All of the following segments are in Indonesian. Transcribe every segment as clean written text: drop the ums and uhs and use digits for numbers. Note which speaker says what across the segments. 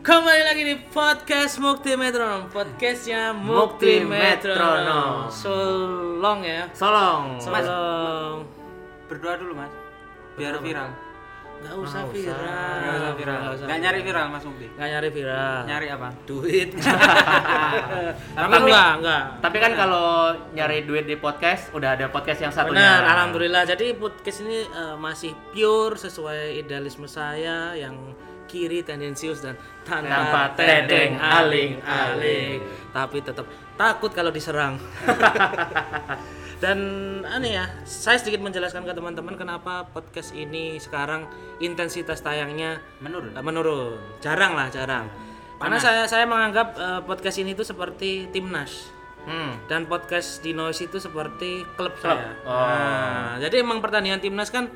Speaker 1: Kembali lagi di podcast Mukti Metronom, podcastnya Mukti Metronom. Solong ya.
Speaker 2: Solong.
Speaker 3: Berdoa dulu mas, biar viral.
Speaker 1: Gak usah viral.
Speaker 3: Gak usah viral. Gak nyari viral mas Mukti.
Speaker 1: Gak nyari viral.
Speaker 3: Nyari apa?
Speaker 1: Duit.
Speaker 2: Tapi
Speaker 1: enggak.
Speaker 2: Tapi kan kalau nyari duit di podcast udah ada podcast yang satunya.
Speaker 1: Benar, alhamdulillah. Jadi podcast ini masih pure sesuai idealisme saya yang kiri tendensius dan tanpa tedeng aling-aling, tapi tetap takut kalau diserang. Dan aneh ya, saya sedikit menjelaskan ke teman-teman kenapa podcast ini sekarang intensitas tayangnya menurun. Jarang. Karena saya menganggap podcast ini itu seperti timnas. Dan podcast di Noise itu seperti klub. Saya. Nah, jadi emang pertandingan timnas kan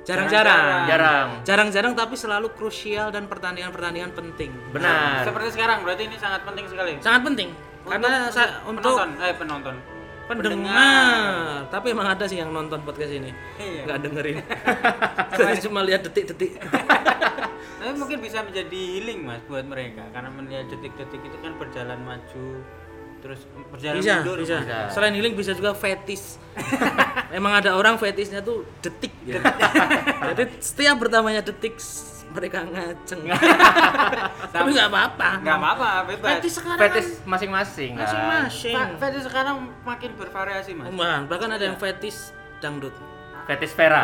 Speaker 1: jarang tapi selalu krusial dan pertandingan penting.
Speaker 2: Benar.
Speaker 3: Seperti sekarang berarti ini sangat penting sekali.
Speaker 1: Sangat penting karena untuk
Speaker 3: penonton.
Speaker 1: Pendengar. Tapi emang ada sih yang nonton podcast ini.
Speaker 3: Iya.
Speaker 1: Nggak dengerin. Saya cuma lihat detik-detik.
Speaker 3: Tapi mungkin bisa menjadi healing mas buat mereka karena melihat detik-detik itu kan berjalan maju terus berjalan mundur.
Speaker 1: Bisa. Selain healing bisa juga fetis. Emang ada orang fetisnya tuh detik ya. Jadi setiap bertambahnya detik mereka ngaceng. Tapi nggak apa-apa.
Speaker 3: Nggak apa-apa, bebas.
Speaker 1: Fetis sekarang
Speaker 2: Fetis masing-masing.
Speaker 3: Fetis sekarang makin bervariasi mas.
Speaker 1: Bahkan ada yang fetis dangdut.
Speaker 2: Fetis Vera.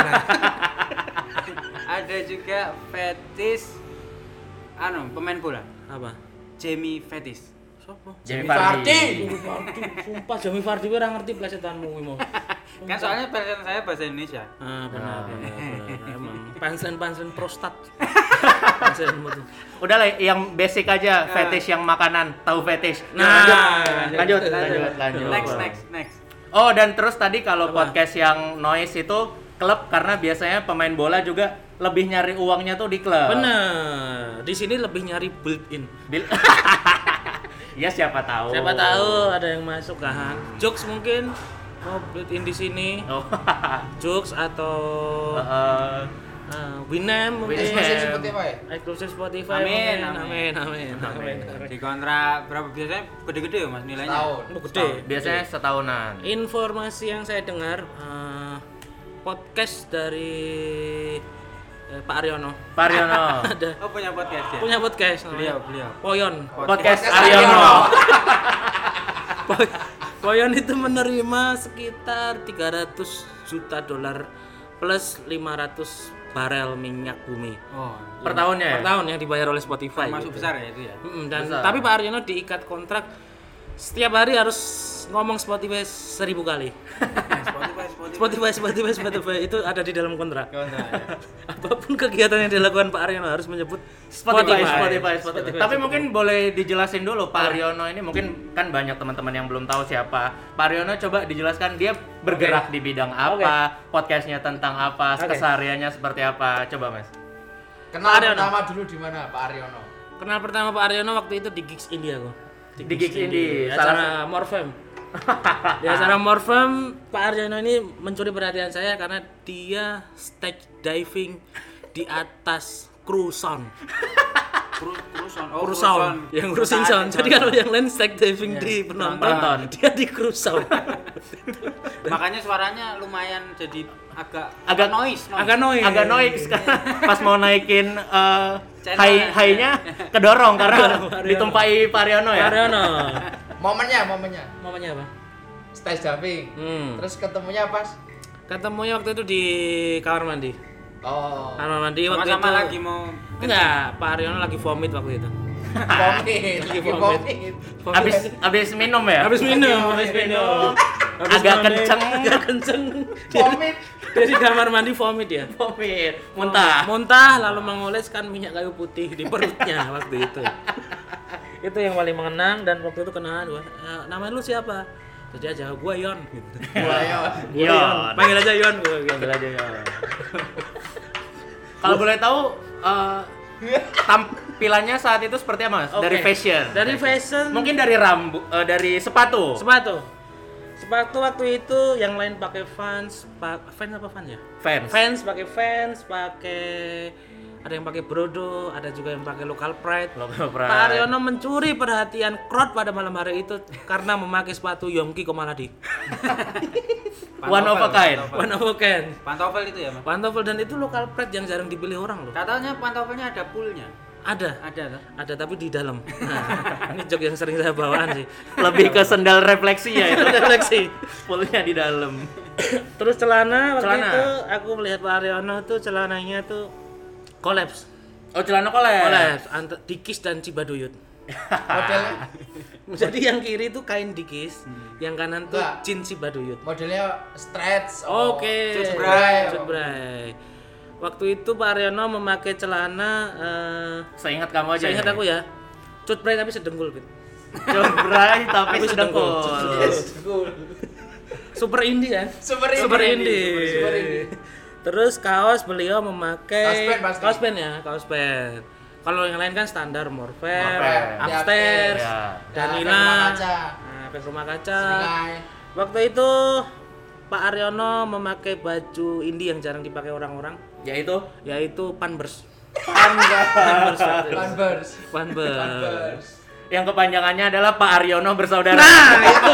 Speaker 3: Ada juga fetis pemain bola.
Speaker 1: Apa?
Speaker 3: Jamie fetis.
Speaker 1: Siapa?
Speaker 2: Jamie Vardy.
Speaker 1: Sumpah Jamie Vardy gue ora ngerti plesetanmu mau.
Speaker 3: Kan soalnya plesetan saya bahasa Indonesia.
Speaker 1: Benar. Emang pansen prostat.
Speaker 2: Udah lah yang basic aja, fetish yang makanan, tahu fetish. Lanjut.
Speaker 3: Next.
Speaker 2: Oh, dan terus tadi kalau podcast yang Noise itu klub karena biasanya pemain bola juga lebih nyari uangnya tuh di klub.
Speaker 1: Bener. Di sini lebih nyari built-in.
Speaker 2: Ya siapa tahu
Speaker 1: Ada yang masuk kan. Jokes mungkin mau built-in di sini. Jokes atau Winamp mungkin. Eksklusif Spotify. Amin.
Speaker 3: Di kontrak berapa biasanya gede-gede ya mas nilainya?
Speaker 1: Gede.
Speaker 2: Biasanya setahunan.
Speaker 1: Informasi yang saya dengar podcast dari Pak Aryono. Ada.
Speaker 3: Punya podcast ya?
Speaker 1: Punya podcast.
Speaker 3: Beliau.
Speaker 1: Poyon.
Speaker 2: Podcast Aryono.
Speaker 1: Poyon itu menerima sekitar 300 juta dolar plus 500 barel minyak bumi.
Speaker 2: Per tahunnya ya?
Speaker 1: Per tahun yang dibayar oleh Spotify.
Speaker 3: Masuk besar ya itu ya?
Speaker 1: Dan besar. Tapi Pak Aryono diikat kontrak setiap hari harus ngomong Spotify 1000 kali. Spotify itu ada di dalam kontrak. Apapun kegiatan yang dilakukan Pak Aryono harus menyebut Spotify.
Speaker 2: Tapi mungkin boleh dijelasin dulu Pak Aryono ini, mungkin kan banyak teman-teman yang belum tahu siapa. Pak Aryono coba dijelaskan dia bergerak di bidang apa, podcastnya tentang apa, kesehariannya seperti apa. Coba Mas.
Speaker 4: Kenal pertama dulu di mana Pak Aryono?
Speaker 1: Kenal pertama Pak Aryono waktu itu di Gigs India kok.
Speaker 2: Di Gigs India.
Speaker 1: Acara Morfem. Di acara Morfem, Pak Aryono ini mencuri perhatian saya karena dia stage diving di atas cruise sound. Yang cruising sound. Jadi kalau yang lain stage diving di penonton, dia di cruise sound.
Speaker 3: Makanya suaranya lumayan jadi agak noise.
Speaker 2: Agak noise pas mau naikin high-nya kedorong karena ditumpai Pak Aryono ya.
Speaker 4: Momennya
Speaker 1: apa?
Speaker 4: stage diving. Terus ketemunya pas?
Speaker 1: Ketemunya waktu itu di kamar mandi. Kamar mandi waktu
Speaker 3: sama-sama
Speaker 1: itu.
Speaker 3: lagi mau
Speaker 1: Enggak, Pak Aryono lagi vomit waktu itu.
Speaker 4: Vomit.
Speaker 2: Habis minum ya?
Speaker 1: Habis minum.
Speaker 2: Agak kenceng.
Speaker 4: Vomit.
Speaker 1: Dia di kamar mandi vomit ya. Muntah lalu mengoleskan minyak kayu putih di perutnya waktu itu. Itu yang paling mengenang dan waktu itu kenalan gua. Nama lu siapa? Terus dia jawab gua Yon gitu.
Speaker 2: Yon.
Speaker 1: Panggil aja Yon gua.
Speaker 2: Kalau boleh tahu tampilannya saat itu seperti apa Mas? Dari fashion. Mungkin dari rambut, dari sepatu.
Speaker 1: Sepatu waktu itu yang lain pakai Vans apa Vans ya?
Speaker 2: Vans.
Speaker 1: Pakai ada yang pakai Brodo, ada juga yang pakai Local Pride.
Speaker 2: Local Pride.
Speaker 1: Pak Aryono mencuri perhatian crowd pada malam hari itu karena memakai sepatu Yongki Komaladi.
Speaker 2: One of a kind.
Speaker 1: One of a kind.
Speaker 3: Pantofel itu ya, Mas?
Speaker 1: Pantofel, dan itu Local Pride yang jarang dipilih orang loh.
Speaker 3: Katanya pantofelnya ada poolnya.
Speaker 1: Ada
Speaker 3: Ada.
Speaker 1: ada tapi di dalam. Nah, ini jok yang sering saya bawaan sih.
Speaker 2: Lebih ke sendal refleksi ya itu.
Speaker 1: Refleksi.
Speaker 2: Poolnya di dalam.
Speaker 1: Terus celana waktu
Speaker 2: Celana.
Speaker 1: itu aku melihat Pak Aryono tuh celananya tuh kolaps.
Speaker 2: Oh, celana kolaps.
Speaker 1: Dikis dan Cibaduyut.
Speaker 4: Modelnya
Speaker 1: Jadi yang kiri tuh kain Dikis, yang kanan tuh
Speaker 4: Enggak.
Speaker 1: jeans Cibaduyut.
Speaker 4: modelnya stretch.
Speaker 1: Oke.
Speaker 4: Cutbray.
Speaker 1: Cutbray. Waktu itu Pak Aryono memakai celana
Speaker 2: Seingat kamu aja.
Speaker 1: saya ingat
Speaker 2: ini.
Speaker 1: aku ya. Cutbray tapi sedengkul, Fit.
Speaker 2: Cutbray tapi
Speaker 1: Tapi sedengkul.
Speaker 2: sedengkul.
Speaker 1: Super indie kan?
Speaker 4: Super
Speaker 1: Super
Speaker 4: indie.
Speaker 1: indie.
Speaker 4: Super indie.
Speaker 1: Terus kaos beliau memakai
Speaker 4: Kaos band pasti.
Speaker 1: kaos band ya, kaos band. Kalau yang lain kan standar Morfem,
Speaker 2: Morfem.
Speaker 1: Upstairs,
Speaker 2: Ya.
Speaker 1: Danila,
Speaker 4: Rumah Kaca.
Speaker 1: Efek Rumah Kaca.
Speaker 4: Seringai.
Speaker 1: Waktu itu Pak Aryono memakai baju indie yang jarang dipakai orang-orang,
Speaker 2: Yaitu
Speaker 1: yaitu Panbers.
Speaker 2: Panbers.
Speaker 4: Converse.
Speaker 1: Panbers.
Speaker 4: Converse.
Speaker 2: Yang kepanjangannya adalah Pak Aryono bersaudara.
Speaker 1: Nah, itu.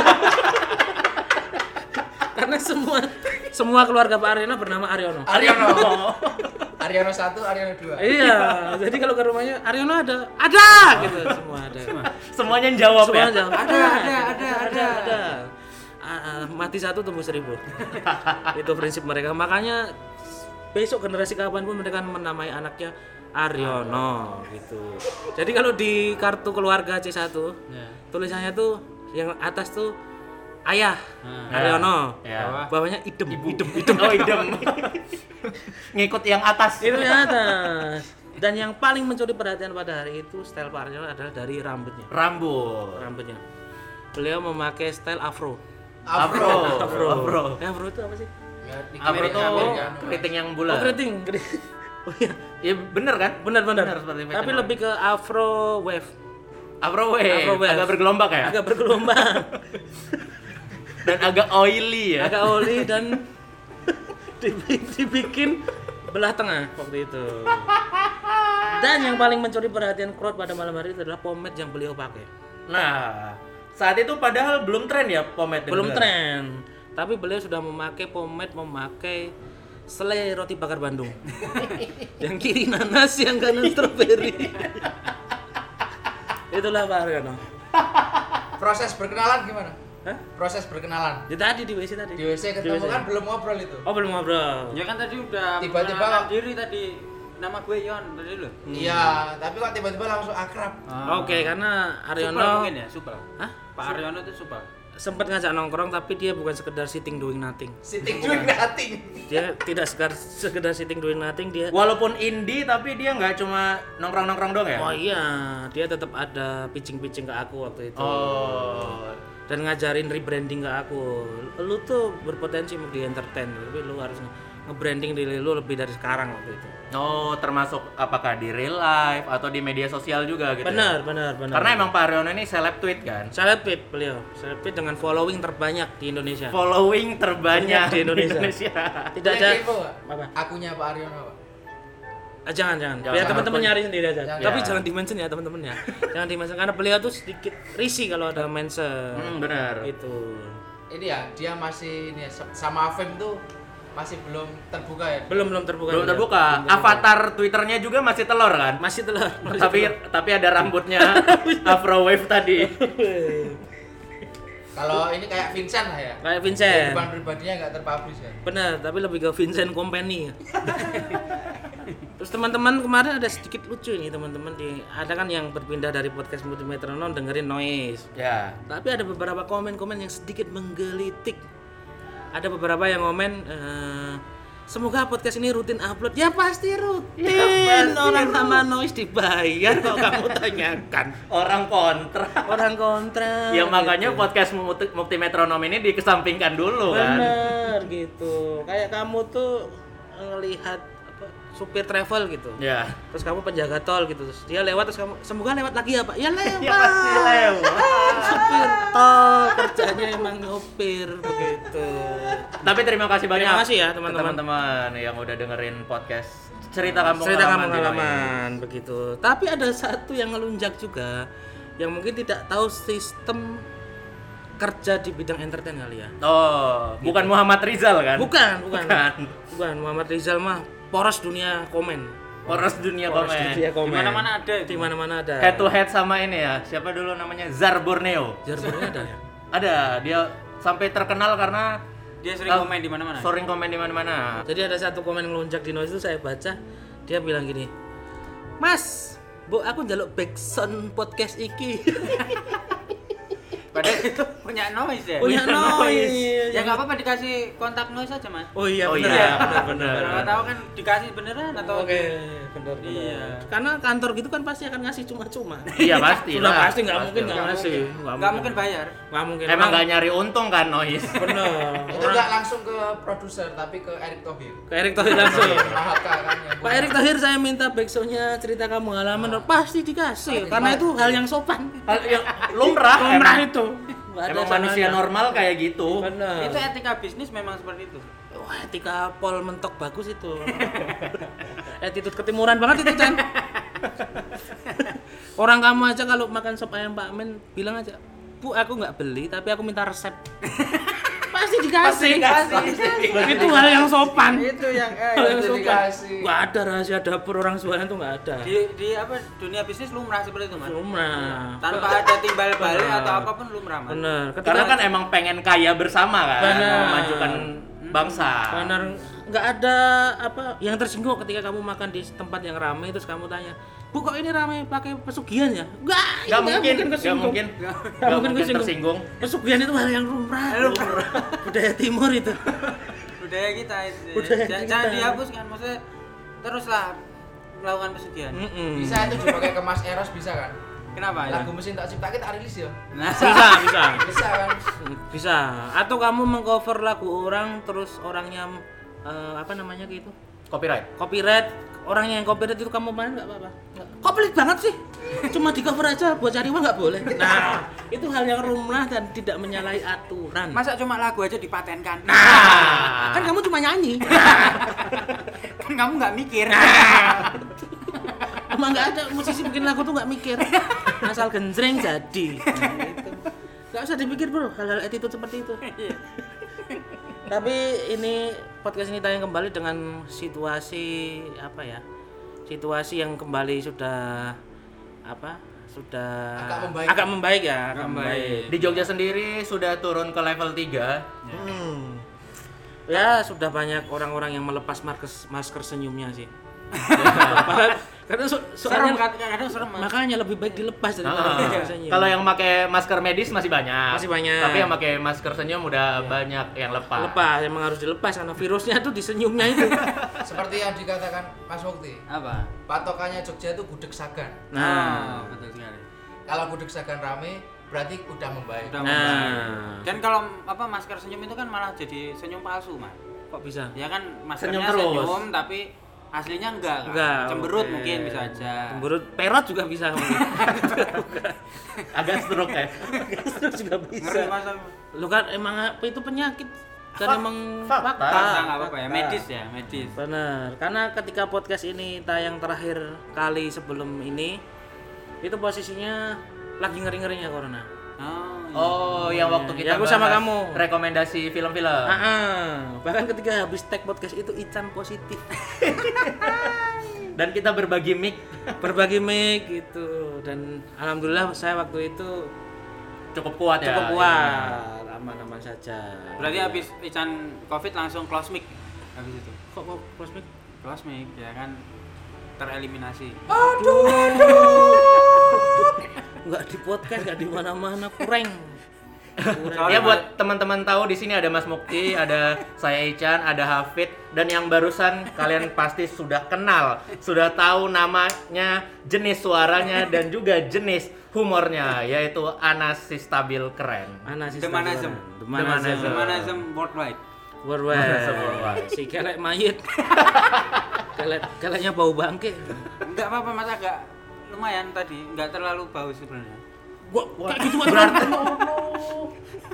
Speaker 1: Karena semua keluarga Pak Aryono bernama Aryono.
Speaker 4: Aryono. Aryono 1, Aryono 2.
Speaker 1: Iya, jadi kalau ke rumahnya Aryono ada gitu, semua ada.
Speaker 2: Semuanya jawab
Speaker 1: Semua
Speaker 2: ya.
Speaker 1: jawab. Ada. Mati satu tumbuh 1000. Itu prinsip mereka. Makanya besok generasi kapanpun mereka menamai anaknya Aryono gitu. Jadi kalau di kartu keluarga C1 tulisannya tuh yang atas tuh ayah Aryono,
Speaker 2: Ya.
Speaker 1: bawahnya idem.
Speaker 2: Oh, idem. Ngikut yang atas.
Speaker 1: Itu yang atas. Dan yang paling mencuri perhatian pada hari itu style Pak Aryono adalah dari rambutnya.
Speaker 2: Rambutnya.
Speaker 1: Beliau memakai style afro.
Speaker 4: Afro.
Speaker 1: Afro itu apa sih?
Speaker 2: Afro tuh
Speaker 4: Amerika.
Speaker 2: keriting yang
Speaker 1: Oh,
Speaker 2: bulat.
Speaker 1: keriting. Oh iya.
Speaker 2: Iya bener kan?
Speaker 1: Benar.
Speaker 2: seperti
Speaker 1: Tapi
Speaker 2: fashion
Speaker 1: lebih ke afro wave.
Speaker 2: Afro wave. Agak bergelombang ya?
Speaker 1: Agak bergelombang.
Speaker 2: Dan agak oily ya.
Speaker 1: Agak oli dan dibikin belah tengah waktu itu. Dan yang paling mencuri perhatian crowd pada malam hari itu adalah pomade yang beliau pakai.
Speaker 2: Nah, saat itu padahal belum tren ya pomade.
Speaker 1: Belum
Speaker 2: dengar.
Speaker 1: tren, tapi beliau sudah memakai memakai selai roti bakar Bandung. Yang kiri nanas, yang kanan stroberi. Itulah Pak Aryono.
Speaker 4: Proses berkenalan gimana?
Speaker 1: Hah?
Speaker 4: Proses berkenalan.
Speaker 1: Di tadi di WC tadi.
Speaker 4: Di WC ketemu
Speaker 1: WC.
Speaker 4: kan belum ngobrol itu.
Speaker 1: Oh, belum ngobrol.
Speaker 3: Ya kan tadi udah
Speaker 4: Tiba-tiba
Speaker 3: mengenalkan
Speaker 4: kok-
Speaker 3: diri tadi. Nama gue Yon tadi lo.
Speaker 4: Iya, tapi kok tiba-tiba langsung akrab.
Speaker 1: Oke, karena
Speaker 3: Supel
Speaker 1: Aryono
Speaker 3: mungkin ya, supel.
Speaker 1: Hah?
Speaker 3: Pak Aryono itu supel.
Speaker 1: sempat ngajak nongkrong, tapi dia bukan sekedar sitting doing nothing.
Speaker 4: Sitting doing nothing.
Speaker 1: Dia tidak sekedar sitting doing nothing, dia
Speaker 2: Walaupun indie tapi dia nggak cuma nongkrong-nongkrong dong ya?
Speaker 1: oh iya, dia tetap ada pitching-pitching ke aku waktu itu.
Speaker 2: Oh.
Speaker 1: Dan ngajarin rebranding ke aku. Lu tuh berpotensi untuk di entertain, tapi lu harus nge-branding diri lu lebih dari sekarang waktu itu.
Speaker 2: Oh, termasuk apakah di real life atau di media sosial juga gitu?
Speaker 1: Benar.
Speaker 2: Ya? Karena emang Pak Aryono ini seleb tweet kan?
Speaker 1: seleb tweet beliau. Seleb tweet dengan following terbanyak di Indonesia.
Speaker 2: Following terbanyak
Speaker 1: Di Indonesia. Tidak ada
Speaker 4: Boleh kepo nggak?
Speaker 1: apa?
Speaker 4: Akunya Pak Aryono, Pak.
Speaker 1: Jangan.
Speaker 2: Jangan.
Speaker 1: Biar teman-teman nyari sendiri aja.
Speaker 4: Jangan.
Speaker 1: Tapi
Speaker 2: Ya.
Speaker 1: jangan di-mention ya teman-teman ya. Jangan di-mention karena beliau tuh sedikit risih kalau ada mention.
Speaker 2: Benar.
Speaker 1: Itu.
Speaker 4: Ini ya, dia masih ini ya, sama Afem tuh masih belum terbuka ya.
Speaker 1: Belum terbuka.
Speaker 2: Belum
Speaker 1: juga.
Speaker 2: terbuka. Avatar Twitternya juga masih telur kan?
Speaker 1: Masih telur.
Speaker 2: Tapi ada rambutnya Afro Wave tadi.
Speaker 4: Kalau ini kayak Vincent lah ya.
Speaker 1: Kayak Vincent.
Speaker 4: Kehidupan pribadinya nggak terpublish ya.
Speaker 1: Benar, tapi lebih ke Vincent Company. Terus teman-teman kemarin ada sedikit lucu ini teman-teman ada kan yang berpindah dari podcast Multimetronom dengerin Noise.
Speaker 2: Ya.
Speaker 1: Tapi ada beberapa komen-komen yang sedikit menggelitik. Ada beberapa yang komen semoga podcast ini rutin upload. Ya pasti rutin.
Speaker 2: Ya, pasti
Speaker 1: Orang sama Noise dibayar kok kamu tanyakan.
Speaker 2: Orang kontra.
Speaker 1: Orang kontra.
Speaker 2: Ya makanya
Speaker 1: gitu.
Speaker 2: podcast Multimetronom ini dikesampingkan dulu kan.
Speaker 1: Bener gitu. Kayak kamu tuh ngelihat apa supir travel gitu.
Speaker 2: Ya.
Speaker 1: Terus kamu penjaga tol gitu. Terus dia lewat terus kamu semoga lewat lagi ya, Pak. Ya lewat.
Speaker 2: Ya pasti lewat.
Speaker 1: Supir tol kerjanya emang nyopir begitu.
Speaker 2: Tapi terima kasih banyak.
Speaker 1: Terima kasih ya, teman-teman.
Speaker 2: teman-teman yang udah dengerin podcast Cerita kampung
Speaker 1: halaman begitu. Tapi ada satu yang ngelunjak juga, yang mungkin tidak tahu sistem kerja di bidang entertain kali ya.
Speaker 2: Oh, bukan Muhammad Rizal kan?
Speaker 1: Bukan. Muhammad Rizal mah poros dunia komen.
Speaker 2: Dunia komen.
Speaker 3: Di mana-mana ada.
Speaker 1: Di mana-mana ada.
Speaker 2: Head to head sama ini ya. Siapa dulu namanya? Zar Borneo.
Speaker 1: Zar Borneo ada ya?
Speaker 2: Ada, dia sampai terkenal karena
Speaker 3: Dia sering komen di mana-mana.
Speaker 2: Sering komen di mana-mana.
Speaker 1: Jadi ada satu komen ngelunjak di Noise itu saya baca, dia bilang gini, "Mas, Bu aku njaluk backsound podcast iki."
Speaker 3: Padahal itu punya Noise ya.
Speaker 1: Punya Noise.
Speaker 3: Ya enggak apa-apa dikasih kontak Noise aja, Mas.
Speaker 1: Oh iya,
Speaker 2: Oh
Speaker 1: benar.
Speaker 2: iya,
Speaker 1: benar.
Speaker 3: Kalau tahu kan dikasih beneran atau
Speaker 1: Oke, benar.
Speaker 3: Iya.
Speaker 1: Karena kantor gitu kan pasti akan ngasih cuma-cuma.
Speaker 2: Iya pasti
Speaker 1: Sudah
Speaker 2: lah.
Speaker 1: pasti nggak mungkin nggak ngasih.
Speaker 3: Enggak mungkin bayar.
Speaker 1: Nggak mungkin.
Speaker 2: Emang nggak nyari untung kan Noise?
Speaker 1: benar.
Speaker 4: Itu nggak langsung ke produser tapi ke Erick Thohir.
Speaker 1: Ke Erick Thohir langsung.
Speaker 4: Mahaka kan yang
Speaker 1: Pak Erick Thohir saya minta backsoundnya cerita kamu halaman pasti dikasih karena itu hal yang sopan.
Speaker 2: Hal yang lumrah.
Speaker 1: Lumrah
Speaker 2: emang.
Speaker 1: itu. Nggak ada
Speaker 2: Emang manusia
Speaker 1: salahnya.
Speaker 2: normal kayak gitu.
Speaker 1: Benar.
Speaker 3: Itu etika bisnis memang seperti itu.
Speaker 1: Wah, etika pol mentok bagus itu. Attitude ketimuran banget itu, Chan. Orang kamu aja kalau makan sop ayam Pak Men bilang aja, "Bu, aku nggak beli, tapi aku minta resep." Pasti dikasih. Itu hal yang sopan.
Speaker 3: Itu yang
Speaker 1: Hal yang sopan.
Speaker 4: dikasih.
Speaker 1: Nggak ada rahasia dapur orang Suwana tuh nggak ada.
Speaker 3: di apa dunia bisnis lumrah seperti itu, Mas.
Speaker 1: Lumrah.
Speaker 3: Tanpa ada timbal balik
Speaker 1: Benar.
Speaker 3: atau apapun lumrah, Mas.
Speaker 1: Bener.
Speaker 2: Karena kan emang pengen kaya bersama kan,
Speaker 1: Benar.
Speaker 2: memajukan bangsa.
Speaker 1: benar nggak ada apa yang tersinggung ketika kamu makan di tempat yang ramai terus kamu tanya, "Bu, kok ini ramai pakai pesugihan ya?"
Speaker 2: Nggak mungkin tersinggung.
Speaker 1: Pesugihan itu hal yang lumrah. Budaya timur itu.
Speaker 3: Budaya kita itu.
Speaker 1: Budaya
Speaker 3: Jangan
Speaker 1: kita.
Speaker 3: dihapuskan, maksudnya teruslah melakukan pesugihan.
Speaker 4: Bisa itu dipakai ke Mas Eros bisa kan?
Speaker 3: Kenapa ya?
Speaker 4: Lagu mesin tak ciptakan tak rilis ya.
Speaker 3: Nah,
Speaker 1: Bisa.
Speaker 4: Bisa kan?
Speaker 1: Bisa. Atau kamu mengcover lagu orang terus orangnya apa namanya gitu? Copyright. Orangnya yang copyright itu kamu main nggak apa-apa. Kok pelit banget sih? Cuma di cover aja buat cari uang nggak boleh. Nah, itu hal yang lumrah dan tidak menyalahi aturan.
Speaker 3: masa cuma lagu aja dipatenkan?
Speaker 1: Nah, kan kamu cuma nyanyi.
Speaker 3: Kan kamu nggak mikir.
Speaker 1: Emang nggak ada musisi bikin lagu tuh nggak mikir. Asal genjreng jadi. Nah, gitu. Nggak usah dipikir bro, hal-hal attitude seperti itu. Tapi ini podcast ini tayang kembali dengan situasi apa ya? Situasi yang kembali sudah apa? Sudah
Speaker 4: Agak
Speaker 1: membaik
Speaker 4: membaik.
Speaker 1: ya, agak membaik.
Speaker 2: Di Jogja sendiri sudah turun ke level 3.
Speaker 1: Ya, sudah banyak orang-orang yang melepas masker senyumnya sih. Karena
Speaker 3: Serem
Speaker 1: soalnya
Speaker 3: kadang serem, Mas.
Speaker 1: makanya lebih baik dilepas daripada masker senyum.
Speaker 2: Kalau yang pakai masker medis masih banyak.
Speaker 1: Masih banyak.
Speaker 2: Tapi yang pakai masker senyum udah banyak yang lepas.
Speaker 1: emang harus dilepas karena virusnya tuh di senyumnya itu.
Speaker 4: Seperti yang dikatakan Mas Mukti.
Speaker 3: Apa?
Speaker 4: Patokannya Jogja itu gudeg sagan.
Speaker 1: Nah,
Speaker 3: betul sekali.
Speaker 4: Kalau gudeg sagan rame berarti udah membaik.
Speaker 3: Udah
Speaker 1: nah,
Speaker 3: membaik. Dan kalau apa masker senyum itu kan malah jadi senyum palsu, Mas.
Speaker 1: kok bisa?
Speaker 3: Ya kan
Speaker 2: Senyum
Speaker 3: maskernya
Speaker 2: terus.
Speaker 3: senyum tapi aslinya enggak kan?
Speaker 1: Enggak,
Speaker 3: Cemberut
Speaker 1: oke.
Speaker 3: mungkin bisa aja.
Speaker 1: Cemberut perot juga bisa mungkin.
Speaker 2: Agak stroke ya.
Speaker 1: Itu juga
Speaker 3: Ngeri
Speaker 1: bisa.
Speaker 3: Mas.
Speaker 1: Lu kan emang apa itu penyakit dan emang
Speaker 2: fakta.
Speaker 1: fakta.
Speaker 3: Enggak apa-apa ya, medis ya, medis.
Speaker 1: Benar, karena ketika podcast ini tayang terakhir kali sebelum ini itu posisinya lagi ngeri-ngerinya corona.
Speaker 2: Oh, yang waktu kita
Speaker 1: Ya, aku sama
Speaker 2: bahas
Speaker 1: kamu.
Speaker 2: rekomendasi film-film.
Speaker 1: Bahkan ketika habis tag podcast itu Ican positif.
Speaker 2: Dan kita berbagi mic
Speaker 1: Berbagi mic gitu dan alhamdulillah saya waktu itu
Speaker 2: cukup kuat ya.
Speaker 1: cukup kuat, aman-aman saja.
Speaker 3: Berarti habis Ican Covid langsung close mic habis itu.
Speaker 1: Kok close mic?
Speaker 3: Close mic ya kan tereliminasi.
Speaker 1: Enggak di podcast, enggak di mana-mana, kurang.
Speaker 2: Ya buat teman-teman tahu di sini ada Mas Mukti, ada saya Ican, ada Hafid dan yang barusan kalian pasti sudah kenal, sudah tahu namanya, jenis suaranya dan juga jenis humornya yaitu Anas si Stabil Keren.
Speaker 3: Demanazem.
Speaker 2: Demanazem.
Speaker 3: Demanazem worldwide.
Speaker 1: Worldwide. Si kelek mayit. Keleknya bau bangke.
Speaker 3: Enggak apa-apa Mas, agak lumayan tadi, enggak terlalu bau sebenarnya.
Speaker 1: Gua kayak gitu berarti.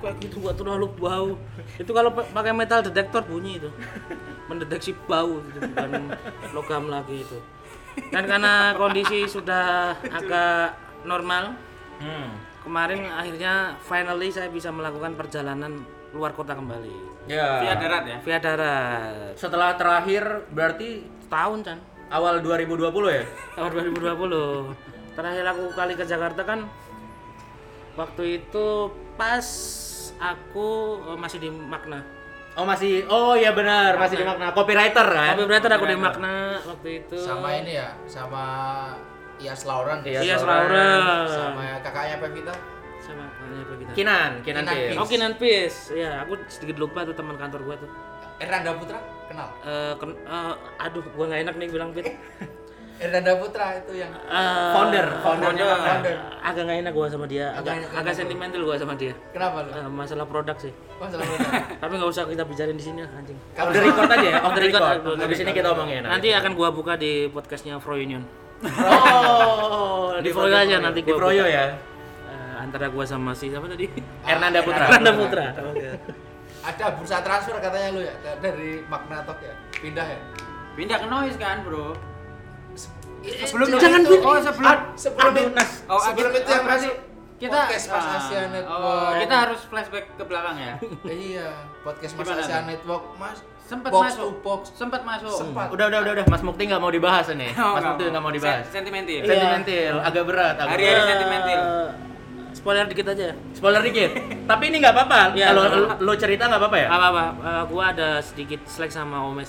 Speaker 1: kayak gitu nggak terlalu bau. Itu kalau pakai metal detektor bunyi itu, mendeteksi bau itu bukan logam lagi itu. Dan karena kondisi sudah agak normal, kemarin akhirnya finally saya bisa melakukan perjalanan luar kota kembali.
Speaker 2: Ya.
Speaker 3: Via darat ya.
Speaker 1: Via darat.
Speaker 2: Setelah terakhir berarti
Speaker 1: Tahun kan?
Speaker 2: awal 2020 ya?
Speaker 1: Tahun 2020. Terakhir aku kali ke Jakarta kan waktu itu pas aku masih di Magna.
Speaker 2: Oh iya benar, masih di Magna. Copywriter kan?
Speaker 1: Copywriter aku di Magna waktu itu.
Speaker 4: Sama ini ya, sama Iyas Lauren.
Speaker 1: Iya, Lauren.
Speaker 4: Sama kakaknya Pevita.
Speaker 1: Sama apa kita?
Speaker 2: Kinan
Speaker 4: Peace.
Speaker 1: Oh, Kinan Peace. Ya, aku sedikit lupa tuh teman kantor gua tuh.
Speaker 4: Erlanda Putra, kenal?
Speaker 1: Aduh, gua nggak enak nih bilang Pit.
Speaker 4: Erlanda Putra itu yang
Speaker 2: Founder.
Speaker 1: Agak nggak enak gua sama dia. Agak sentimental gua sama dia.
Speaker 4: Kenapa lu?
Speaker 1: Masalah produk sih.
Speaker 4: Masalah Putra.
Speaker 1: Tapi nggak usah kita bicarain di sini lah, anjing.
Speaker 2: Off the record aja ya, off the record.
Speaker 1: Habis
Speaker 2: Habis ini kita omongin.
Speaker 1: Nanti akan gua buka di podcastnya Fro Union.
Speaker 2: Oh,
Speaker 1: Di Froyo aja nanti
Speaker 2: di
Speaker 1: gua
Speaker 2: Froyo
Speaker 1: buka.
Speaker 2: ya.
Speaker 1: Antara gua sama si siapa tadi?
Speaker 2: Ernanda Putra.
Speaker 1: Ernanda Putra. Oke.
Speaker 4: Ada bursa transfer katanya lu ya dari Magnatok ya. Pindah ya.
Speaker 3: Pindah ke Noise kan, Bro?
Speaker 4: Sebelum
Speaker 1: jangan
Speaker 4: itu,
Speaker 1: pindah.
Speaker 4: sebelum itu,
Speaker 3: Oh,
Speaker 4: sebelum itu yang
Speaker 3: berarti
Speaker 4: masuk
Speaker 3: kita
Speaker 4: podcast Mas Asia Network.
Speaker 3: kita harus flashback ke belakang ya.
Speaker 4: Iya, podcast Mas
Speaker 3: Gimana
Speaker 4: Asia
Speaker 3: tuh?
Speaker 4: Network, Mas.
Speaker 3: Sempet
Speaker 4: Box
Speaker 3: masuk.
Speaker 4: to box.
Speaker 3: Sempat masuk.
Speaker 4: Sempat.
Speaker 2: Udah. Mas Mukti nggak mau dibahas ini.
Speaker 3: Oh,
Speaker 2: Mas Mukti nggak mau dibahas.
Speaker 3: Sentimental.
Speaker 1: Iya.
Speaker 2: Sentimental, agak berat.
Speaker 3: Hari-hari sentimental.
Speaker 1: Spoiler dikit aja.
Speaker 2: Spoiler dikit. Tapi ini nggak apa-apa.
Speaker 1: Iya,
Speaker 2: Kalau
Speaker 1: nggak apa-apa.
Speaker 2: lo cerita nggak apa-apa ya?
Speaker 1: Apa-apa, gua ada sedikit slack sama Omes.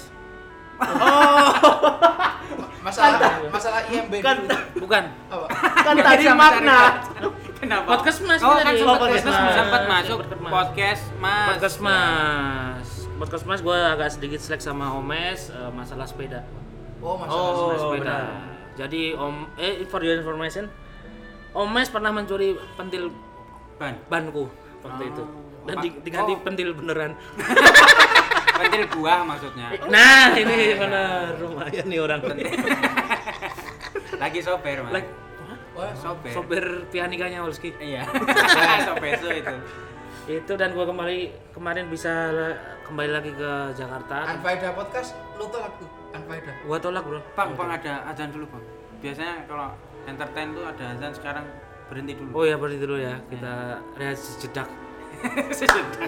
Speaker 4: Masalah IMB
Speaker 2: Kan
Speaker 4: dulu.
Speaker 1: Bukan.
Speaker 4: Apa?
Speaker 2: kan tadi makna.
Speaker 3: Kenapa?
Speaker 1: Podcast Mas
Speaker 3: Oh,
Speaker 1: tadi.
Speaker 3: kan
Speaker 1: Podcast Mas.
Speaker 3: sempat masuk
Speaker 1: Podcast Mas.
Speaker 3: podcast Mas.
Speaker 1: Podcast Mas gua agak sedikit slack sama Omes masalah sepeda.
Speaker 4: Oh, masalah
Speaker 1: Masalah sepeda.
Speaker 2: benar.
Speaker 1: Jadi for your information, Omes pernah mencuri pentil banku waktu itu. Dan diganti pentil beneran.
Speaker 3: Pentil buah maksudnya.
Speaker 1: Nah, ini benar. Lumayan nih orang.
Speaker 3: Lagi sober, Mas.
Speaker 1: Like,
Speaker 4: Wah,
Speaker 3: Sober.
Speaker 1: sopir Pianikanya Wolski.
Speaker 3: Iya. Sobeso itu.
Speaker 1: Itu dan gua kemarin bisa kembali lagi ke Jakarta.
Speaker 4: Anfaida podcast lu tolak tuh. Anfaida.
Speaker 1: Gua tolak, Bro.
Speaker 3: Bang, ada azan dulu, Bang. Biasanya kalau entertain tuh ada azan, sekarang berhenti dulu.
Speaker 1: Oh ya, berhenti dulu ya. Kita rehat sejedak.
Speaker 3: Sejedak.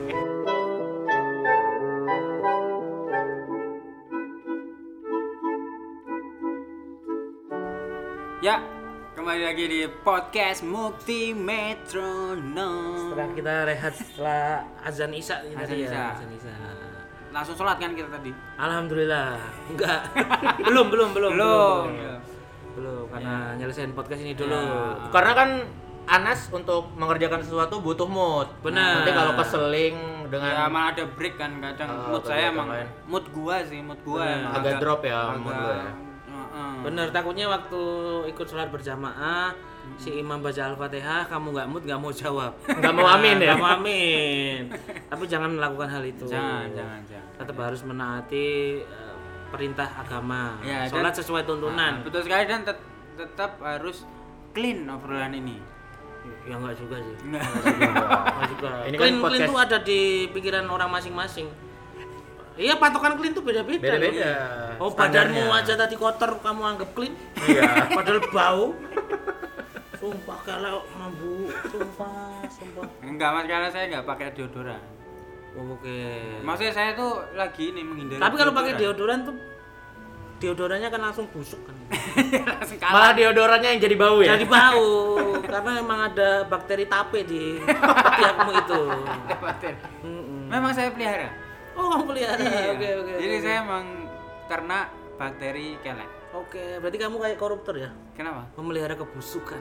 Speaker 3: Ya, kembali lagi di podcast Mukti Metronom.
Speaker 1: Setelah kita rehat setelah azan Isya ini
Speaker 3: Azan
Speaker 1: tadi
Speaker 3: Isya.
Speaker 1: ya. Azan Isya.
Speaker 3: Langsung sholat kan kita tadi?
Speaker 1: Alhamdulillah. Enggak. belum.
Speaker 3: Belum.
Speaker 1: Belum karena nyelesain podcast ini dulu.
Speaker 3: Ya.
Speaker 2: Karena kan Anas untuk mengerjakan sesuatu butuh mood.
Speaker 1: Benar.
Speaker 2: Nanti kalau keseling
Speaker 3: Ya
Speaker 2: dengan
Speaker 3: emang ada break kan kadang mood saya
Speaker 2: kegiatan
Speaker 3: emang
Speaker 2: lain.
Speaker 3: mood gua
Speaker 1: Bener.
Speaker 3: emang
Speaker 2: agak drop ya mood
Speaker 3: agak
Speaker 2: lu ya.
Speaker 1: Bener, takutnya waktu ikut sholat berjamaah si imam baca Al-Fatihah kamu nggak mood nggak mau jawab.
Speaker 2: Nggak mau amin ya?
Speaker 1: Nggak mau amin. Tapi jangan melakukan hal itu.
Speaker 3: Jangan.
Speaker 1: Tetap harus menaati perintah agama.
Speaker 3: Ya,
Speaker 1: Sholat
Speaker 3: dan-
Speaker 1: sesuai tuntunan.
Speaker 3: Betul sekali dan tetap harus clean obrolan ini.
Speaker 1: Ya enggak juga sih.
Speaker 3: Nggak.
Speaker 1: Enggak juga.
Speaker 2: Ini kan
Speaker 1: Clean
Speaker 2: podcast-
Speaker 1: tuh ada di pikiran orang masing-masing. Iya, patokan clean tuh beda-beda.
Speaker 2: Beda-beda
Speaker 1: Oh,
Speaker 2: standarnya.
Speaker 1: badanmu aja tadi kotor kamu anggap clean.
Speaker 2: Iya.
Speaker 1: Padahal bau. Sumpah kalau mambu, sumpah.
Speaker 3: Enggak, Mas, karena saya nggak pakai deodoran.
Speaker 1: Oke.
Speaker 3: Maksudnya saya tuh lagi ini menghindari.
Speaker 1: Tapi kalau pakai deodoran tuh deodorannya kan langsung busuk kan.
Speaker 3: langsung
Speaker 2: Malah
Speaker 3: kalah.
Speaker 2: deodorannya yang jadi bau ya.
Speaker 1: Jadi bau karena emang ada bakteri tape di ketiakmu itu.
Speaker 3: Memang saya pelihara.
Speaker 1: Oh, kamu pelihara.
Speaker 3: Iya.
Speaker 1: Oke.
Speaker 3: Jadi saya emang ternak bakteri kelek.
Speaker 1: Oke, berarti kamu kayak koruptor ya?
Speaker 3: Kenapa?
Speaker 1: Memelihara kebusukan.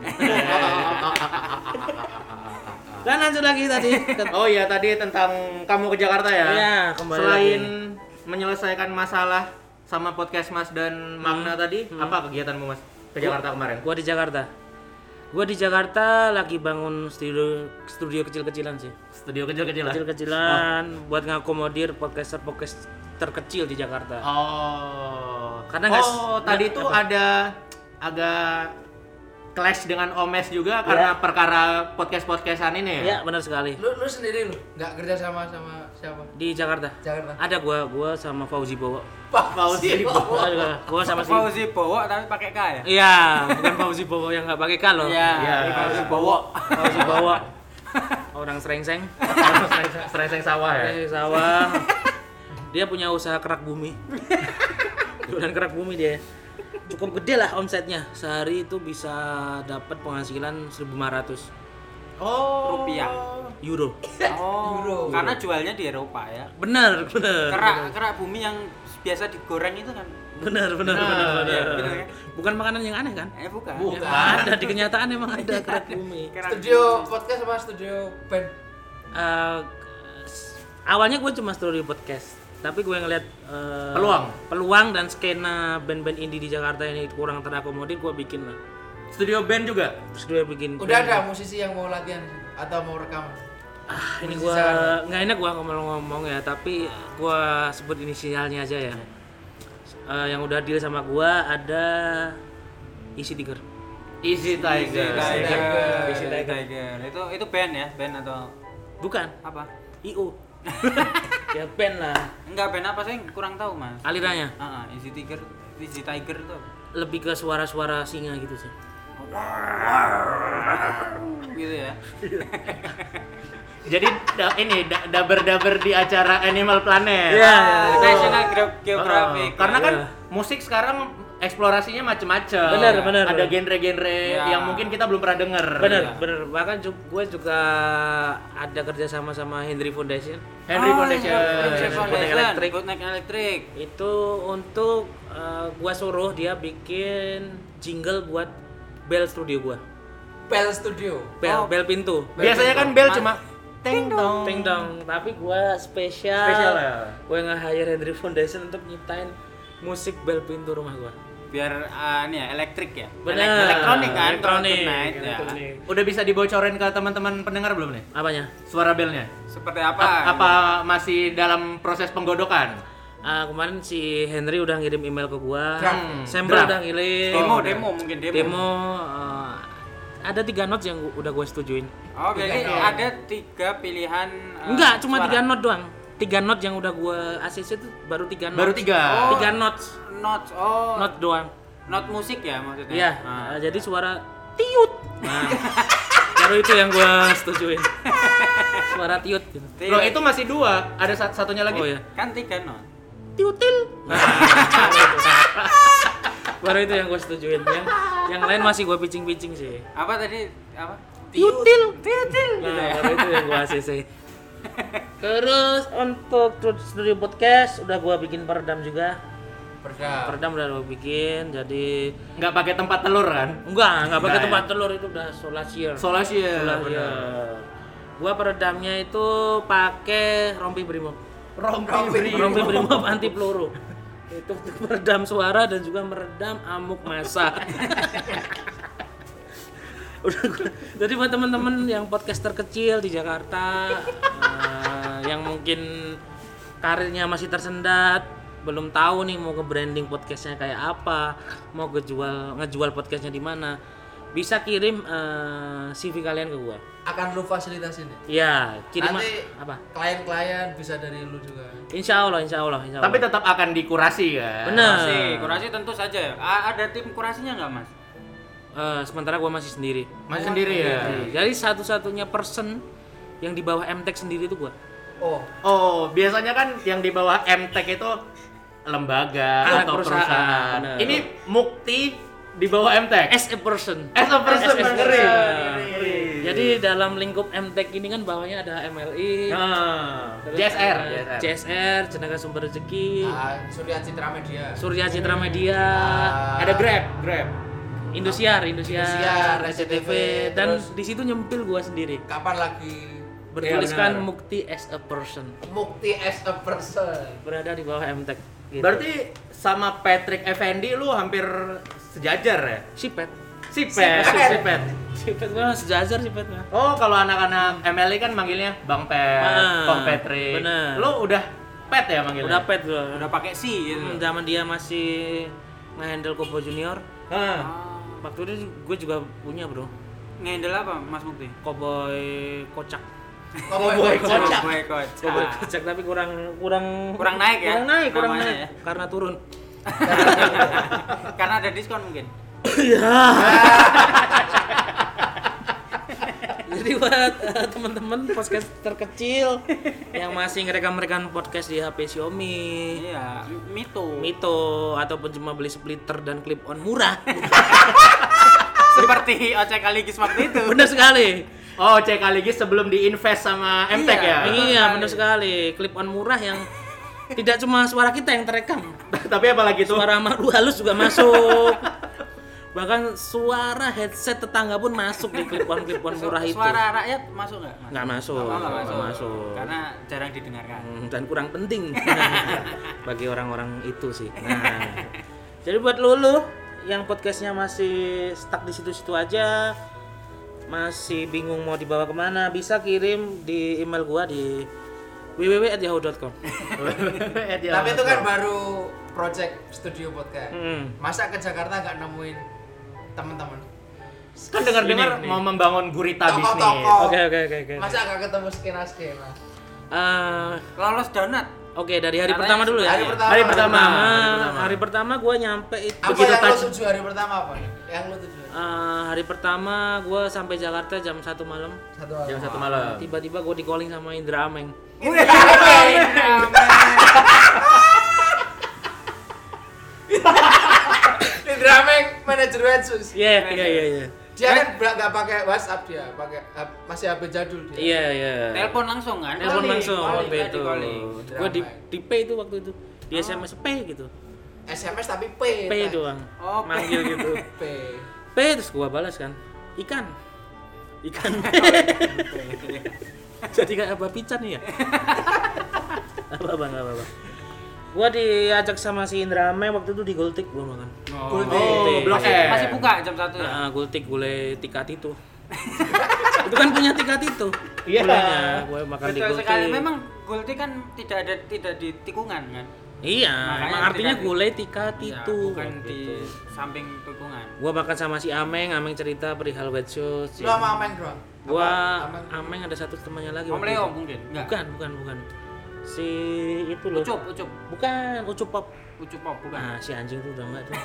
Speaker 1: Dan lanjut lagi tadi.
Speaker 2: Oh iya tadi tentang kamu ke Jakarta ya.
Speaker 1: Iya, kembali
Speaker 2: Selain
Speaker 1: lagi.
Speaker 2: menyelesaikan masalah sama podcast Mas dan Magna tadi, apa kegiatanmu Mas ke Jakarta kemarin?
Speaker 1: Gua di Jakarta lagi bangun studio kecil-kecilan sih.
Speaker 2: Studio kecil-kecilan.
Speaker 1: Kecil-kecilan buat ngakomodir podcaster terkecil di Jakarta.
Speaker 2: Oh.
Speaker 1: Karena
Speaker 2: tadi itu ada agak clash dengan Omes juga karena perkara podcast-podcastan ini ya?
Speaker 1: Ya, benar sekali.
Speaker 4: Lu sendiri nggak kerja sama siapa?
Speaker 1: Di Jakarta. Ada gua sama Fauzi Bowo.
Speaker 4: Pak Fauzi.
Speaker 1: Gua sama si
Speaker 3: Fauzi Bowo tapi pakai K ya?
Speaker 1: Iya, bukan Fauzi Bowo yang nggak pakai K loh.
Speaker 3: Iya, Fauzi Bowo.
Speaker 1: Fauzi Bowo. Orang Srengseng.
Speaker 2: Srengseng sawah ya?
Speaker 1: Srengseng sawah. Dia punya usaha kerak bumi. Jualan kerak bumi dia. Cukup gede lah omsetnya. Sehari itu bisa dapat penghasilan 1.500
Speaker 3: Rupiah.
Speaker 1: euro.
Speaker 3: Euro. Karena jualnya di Eropa ya.
Speaker 1: Benar.
Speaker 3: Kerak bumi yang biasa digoreng itu kan.
Speaker 1: Benar.
Speaker 3: Benar kan?
Speaker 1: Bukan makanan yang aneh kan?
Speaker 3: Bukan.
Speaker 1: Ya, ada di kenyataan emang ada kerak bumi.
Speaker 4: Studio podcast sama studio band?
Speaker 1: Awalnya gue cuma studio podcast, tapi gue ngeliat peluang dan skena band-band indie di Jakarta ini kurang terakomodir, gue bikin lah.
Speaker 2: Studio band juga?
Speaker 1: Terus gue bikin.
Speaker 4: Udah ada musisi yang mau latihan atau mau rekaman?
Speaker 1: Ini gue nggak enak gue ngomong ya, tapi gue sebut inisialnya aja ya. Yang udah deal sama gue ada Easy Tiger.
Speaker 2: Easy Tiger.
Speaker 3: Itu band ya? Band atau
Speaker 1: Bukan.
Speaker 3: apa?
Speaker 1: IO. Ya band lah.
Speaker 3: Enggak, band apa sih? Kurang tahu, Mas.
Speaker 1: Alirannya
Speaker 3: Easy Tiger itu apa?
Speaker 1: lebih ke suara-suara singa gitu sih.
Speaker 3: Gitu ya.
Speaker 2: Jadi ini daber-daber di acara Animal Planet.
Speaker 1: Iya.
Speaker 3: National Geographic.
Speaker 2: Karena kan musik sekarang eksplorasinya macam-macam.
Speaker 1: Benar.
Speaker 2: Ada genre-genre yang mungkin kita belum pernah dengar.
Speaker 1: Bener. Bahkan gue juga ada kerja sama Henry Foundation.
Speaker 3: Bootleg Electric.
Speaker 1: Itu untuk gua suruh dia bikin jingle buat bel studio gua.
Speaker 4: Bell Studio.
Speaker 1: Bel pintu.
Speaker 2: Biasanya kan bel cuma ting dong.
Speaker 1: Ting dong, tapi gua spesial
Speaker 2: Ya.
Speaker 1: Gua nge-hire Henry Foundation untuk nyiptain musik bel pintu rumah gua.
Speaker 3: Biar elektrik ya.
Speaker 1: Bener.
Speaker 3: Elektronik kan.
Speaker 1: Elektronik.
Speaker 3: Ya.
Speaker 2: Udah bisa dibocorin ke teman-teman pendengar belum nih?
Speaker 1: Apanya?
Speaker 2: Suara belnya.
Speaker 3: Seperti apa?
Speaker 2: Apa masih dalam proses penggodokan?
Speaker 1: Kemarin si Henry udah ngirim email ke gua. Sampel
Speaker 2: Draft.
Speaker 1: udah ngirim. Demo ada 3 notes yang udah gue setujuin.
Speaker 3: Oh, jadi ada 3 pilihan.
Speaker 1: Enggak, cuma
Speaker 3: suara.
Speaker 1: 3 note doang. 3 note yang udah gue ACC itu baru 3 notes.
Speaker 2: Baru 3.
Speaker 1: 3 notes.
Speaker 3: Notes.
Speaker 1: Note doang.
Speaker 3: Note musik ya maksudnya.
Speaker 1: Iya. Jadi suara tiut. Nah, baru itu yang gue setujuin. Suara tiut gitu.
Speaker 2: Loh, itu masih 2. Ada satunya lagi.
Speaker 1: Oh ya.
Speaker 3: Kan 3 note.
Speaker 1: Tiutil. Nah, baru itu yang gue setujuin. Yang lain masih gue pitching sih.
Speaker 3: Apa tadi? Apa?
Speaker 1: Tiutil. Nah, baru itu yang gue ACC. Terus untuk studio podcast udah gue bikin peredam juga. Peredam udah gue bikin, jadi
Speaker 2: Nggak pakai tempat telur kan?
Speaker 1: enggak pakai
Speaker 2: Enggak,
Speaker 1: tempat telur, itu udah solasier.
Speaker 2: Solasier.
Speaker 1: Gua peredamnya itu pakai rompi brimob.
Speaker 2: Rompi
Speaker 1: Brimob anti peluru. Itu untuk meredam suara dan juga meredam amuk massa. Jadi buat teman-teman yang podcaster kecil di Jakarta yang mungkin karirnya masih tersendat, belum tahu nih mau nge-branding podcastnya kayak apa, mau ngejual podcastnya di mana, bisa kirim CV kalian ke gua.
Speaker 4: Akan lu fasilitasin ya?
Speaker 1: Iya, kirim
Speaker 4: Nanti
Speaker 1: apa?
Speaker 4: klien-klien bisa dari lu juga.
Speaker 1: Insya Allah.
Speaker 2: Tapi tetap akan dikurasi kan?
Speaker 1: Bener.
Speaker 3: Kurasi tentu saja. Ada tim kurasinya nggak, Mas?
Speaker 1: Sementara gua masih sendiri.
Speaker 2: Masih sendiri ya?
Speaker 1: Jadi satu-satunya person yang di bawah MTech sendiri itu gua.
Speaker 2: Oh, biasanya kan yang di bawah MTech itu lembaga atau perusahaan.
Speaker 1: Bener.
Speaker 2: Ini Mukti di bawah MTech.
Speaker 1: As a person.
Speaker 2: Ngeri.
Speaker 1: Jadi dalam lingkup MTech ini kan bawahnya ada MLI, terus
Speaker 2: JSR.
Speaker 1: ada JSR, Jenaka Sumber Rezeki,
Speaker 4: Surya Citra Media.
Speaker 2: Ada Grab.
Speaker 1: Indosiar,
Speaker 4: SCTV,
Speaker 1: dan
Speaker 4: terus
Speaker 1: di situ nyempil gua sendiri.
Speaker 4: Kapan lagi
Speaker 1: Bertuliskan
Speaker 2: benar.
Speaker 1: Mukti as a person.
Speaker 4: Mukti as a person.
Speaker 1: Berada di bawah MTech. Gitu.
Speaker 2: Berarti sama Patrick Effendi lu hampir sejajar ya?
Speaker 1: Sipet
Speaker 2: Sipet.
Speaker 1: mah sejajar Sipet mah.
Speaker 2: Oh, kalau anak-anak MLI kan manggilnya Bang Pet, Bang Patrick.
Speaker 1: Bener.
Speaker 2: Lu udah Pet ya manggilnya?
Speaker 1: Udah Pet gua.
Speaker 3: Udah pakai si gitu.
Speaker 1: Zaman dia masih nge-handle Kobo Junior. Waktu itu gue juga punya bro.
Speaker 3: Ngendel apa Mas Mukti?
Speaker 1: Cowboy kocak.
Speaker 4: Cowboy kocak.
Speaker 1: Cowboy kocak tapi kurang
Speaker 3: naik ya?
Speaker 1: Kurang
Speaker 3: Namanya
Speaker 1: naik.
Speaker 3: ya?
Speaker 1: Karena turun.
Speaker 3: Karena ada diskon mungkin.
Speaker 1: Iya. Jadi buat teman-teman podcast terkecil yang masih ngerekam podcast di HP Xiaomi,
Speaker 3: Iya,
Speaker 1: Mito ataupun cuma beli splitter dan clip on murah.
Speaker 3: Seperti Ocek Aligis waktu itu.
Speaker 1: Benar sekali.
Speaker 2: Oh, cek lagi sebelum diinvest sama MTech ya.
Speaker 1: Iya, benar sekali. Clip on murah yang tidak cuma suara kita yang terekam,
Speaker 2: Tapi apalagi tuh
Speaker 1: suara malu halus juga masuk. Bahkan suara headset tetangga pun masuk di clip-on murah itu.
Speaker 3: Suara rakyat masuk nggak? Mas?
Speaker 1: Nggak masuk.
Speaker 3: Oh, nggak
Speaker 1: Nggak masuk.
Speaker 3: Karena jarang didengarkan.
Speaker 1: Dan kurang penting bagi orang-orang itu sih. Nah, jadi buat lulu yang podcastnya masih stuck di situ-situ aja, masih bingung mau dibawa kemana, bisa kirim di email gua di www@yahoo.com.
Speaker 4: Tapi itu kan baru project studio podcast. Masa ke Jakarta nggak nemuin teman-teman?
Speaker 2: kan dengar-dengar mau membangun gurita bisnis.
Speaker 4: Toko-toko.
Speaker 1: Oke.
Speaker 4: Masa nggak ketemu skena-skena?
Speaker 3: Lolos donat.
Speaker 1: Oke, dari hari
Speaker 3: Katanya
Speaker 1: pertama dulu ya.
Speaker 2: Hari pertama.
Speaker 1: Gue nyampe itu
Speaker 4: Apa
Speaker 1: begitu
Speaker 4: yang lo
Speaker 1: touch.
Speaker 4: tuju hari pertama apa? Yang lo tuju?
Speaker 1: Hari pertama gue sampai Jakarta jam 1 malam.
Speaker 2: Jam 1 malam.
Speaker 1: Tiba-tiba gue di calling sama Indra Ameng.
Speaker 4: Indra Ameng manajer Wetsus.
Speaker 1: Iya.
Speaker 4: Dia kan nggak pakai WhatsApp, dia pakai masih HP jadul dia.
Speaker 1: Iya.
Speaker 3: Telepon langsung kan?
Speaker 1: Telepon langsung waktu
Speaker 3: calling,
Speaker 1: itu.
Speaker 3: calling.
Speaker 1: Gue di P itu waktu itu. Di SMS P gitu.
Speaker 4: SMS tapi P.
Speaker 1: P doang.
Speaker 3: Oh, P.
Speaker 1: Manggil gitu.
Speaker 4: P.
Speaker 1: P terus gua balas kan. Ikan. Jadi kayak apa pican nih ya? apa. Gua diajak sama si Indra Ame waktu itu di Gultik gua makan.
Speaker 4: Gultik.
Speaker 2: Blok M.
Speaker 3: Masih buka jam 1 ya?
Speaker 1: Gultik gulai tikat itu. Itu kan punya tikat itu.
Speaker 2: Iya.
Speaker 1: Gulainya gua makan di
Speaker 3: Betul
Speaker 1: Gultik.
Speaker 3: sekali. Memang Gultik kan tidak di tikungan kan?
Speaker 1: Iya,
Speaker 3: Makanya
Speaker 1: emang artinya
Speaker 3: tidak
Speaker 1: gulai tikat
Speaker 3: Iya,
Speaker 1: itu.
Speaker 3: bukan
Speaker 1: gitu.
Speaker 3: di samping tikungan.
Speaker 1: Gua makan sama si Ameng cerita perihal Wet Shoes.
Speaker 4: Lo sama Ameng doang?
Speaker 1: Gua
Speaker 4: Ameng.
Speaker 1: Ameng ada satu temannya lagi.
Speaker 3: Om
Speaker 1: waktu
Speaker 3: Leo
Speaker 1: itu.
Speaker 3: mungkin? Enggak.
Speaker 1: Bukan. Si itu loh.
Speaker 3: Ucup.
Speaker 1: Bukan, Ucup Pop.
Speaker 3: Ucup Pop bukan.
Speaker 1: Ah, si anjing tuh udah enggak tuh.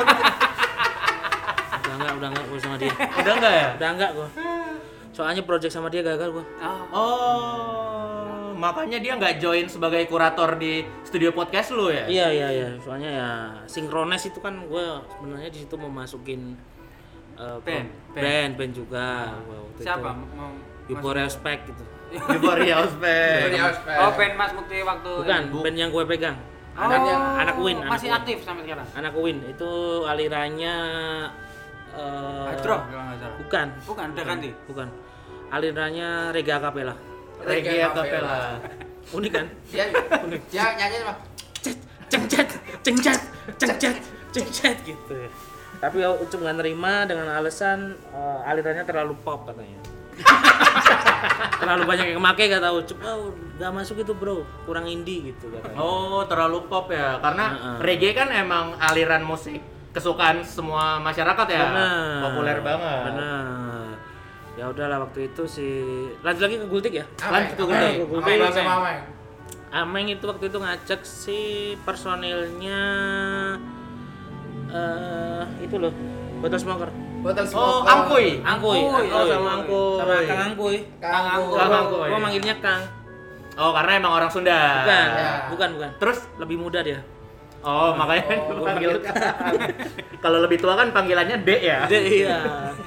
Speaker 1: udah enggak gua sama dia.
Speaker 2: Udah enggak ya?
Speaker 1: Udah enggak gua. Soalnya project sama dia gagal gua.
Speaker 2: Oh, makanya dia nggak join sebagai kurator di studio podcast lu ya?
Speaker 1: Iya. Soalnya ya Synchronize itu kan gua sebenarnya di situ mau masukin band juga. Waktu
Speaker 3: Siapa?
Speaker 1: Itu. Euphoria Spec gitu.
Speaker 2: Euphoria Ospek.
Speaker 3: Oh, band Mas Mukti waktu
Speaker 1: Bukan, band yang gue pegang. Anak Win.
Speaker 3: Masih aktif sampai sekarang.
Speaker 1: Anak Win itu alirannya
Speaker 3: Hadroh kalau nggak salah.
Speaker 1: Bukan,
Speaker 3: udah ganti.
Speaker 1: Bukan. Alirannya Reggae Acapella.
Speaker 2: Reggae Acapella.
Speaker 1: Unik kan?
Speaker 4: Dia nyanyi apa?
Speaker 1: Cengcet gitu. Tapi Ucup nggak nerima dengan alasan alirannya terlalu pop katanya. Terlalu banyak yang make kata Ucup. Nggak masuk itu bro, kurang indie gitu katanya.
Speaker 2: Oh, terlalu pop ya. Karena reggae kan emang aliran musik kesukaan semua masyarakat ya.
Speaker 1: Bener.
Speaker 2: Populer banget.
Speaker 1: Benar. Ya udahlah waktu itu lanjut lagi ke Gultik ya.
Speaker 4: Ameng.
Speaker 1: Lanjut ke Gultik.
Speaker 4: Ameng sama Ameng.
Speaker 1: Ameng itu waktu itu ngajak si personilnya itu loh, Botol Smoker.
Speaker 4: Botol
Speaker 2: Oh,
Speaker 4: smoker.
Speaker 2: Angkuy.
Speaker 1: Angkuy.
Speaker 2: Sama Angkuy.
Speaker 1: Sama Kang Angkuy.
Speaker 4: Kang Angkuy.
Speaker 2: Kang Angkuy.
Speaker 1: Gua manggilnya Kang.
Speaker 2: Oh, karena emang orang Sunda.
Speaker 1: Bukan.
Speaker 2: Terus
Speaker 1: Lebih muda dia.
Speaker 2: oh, makanya
Speaker 1: Gua panggil
Speaker 2: kalau lebih tua kan panggilannya D ya.
Speaker 1: Iya.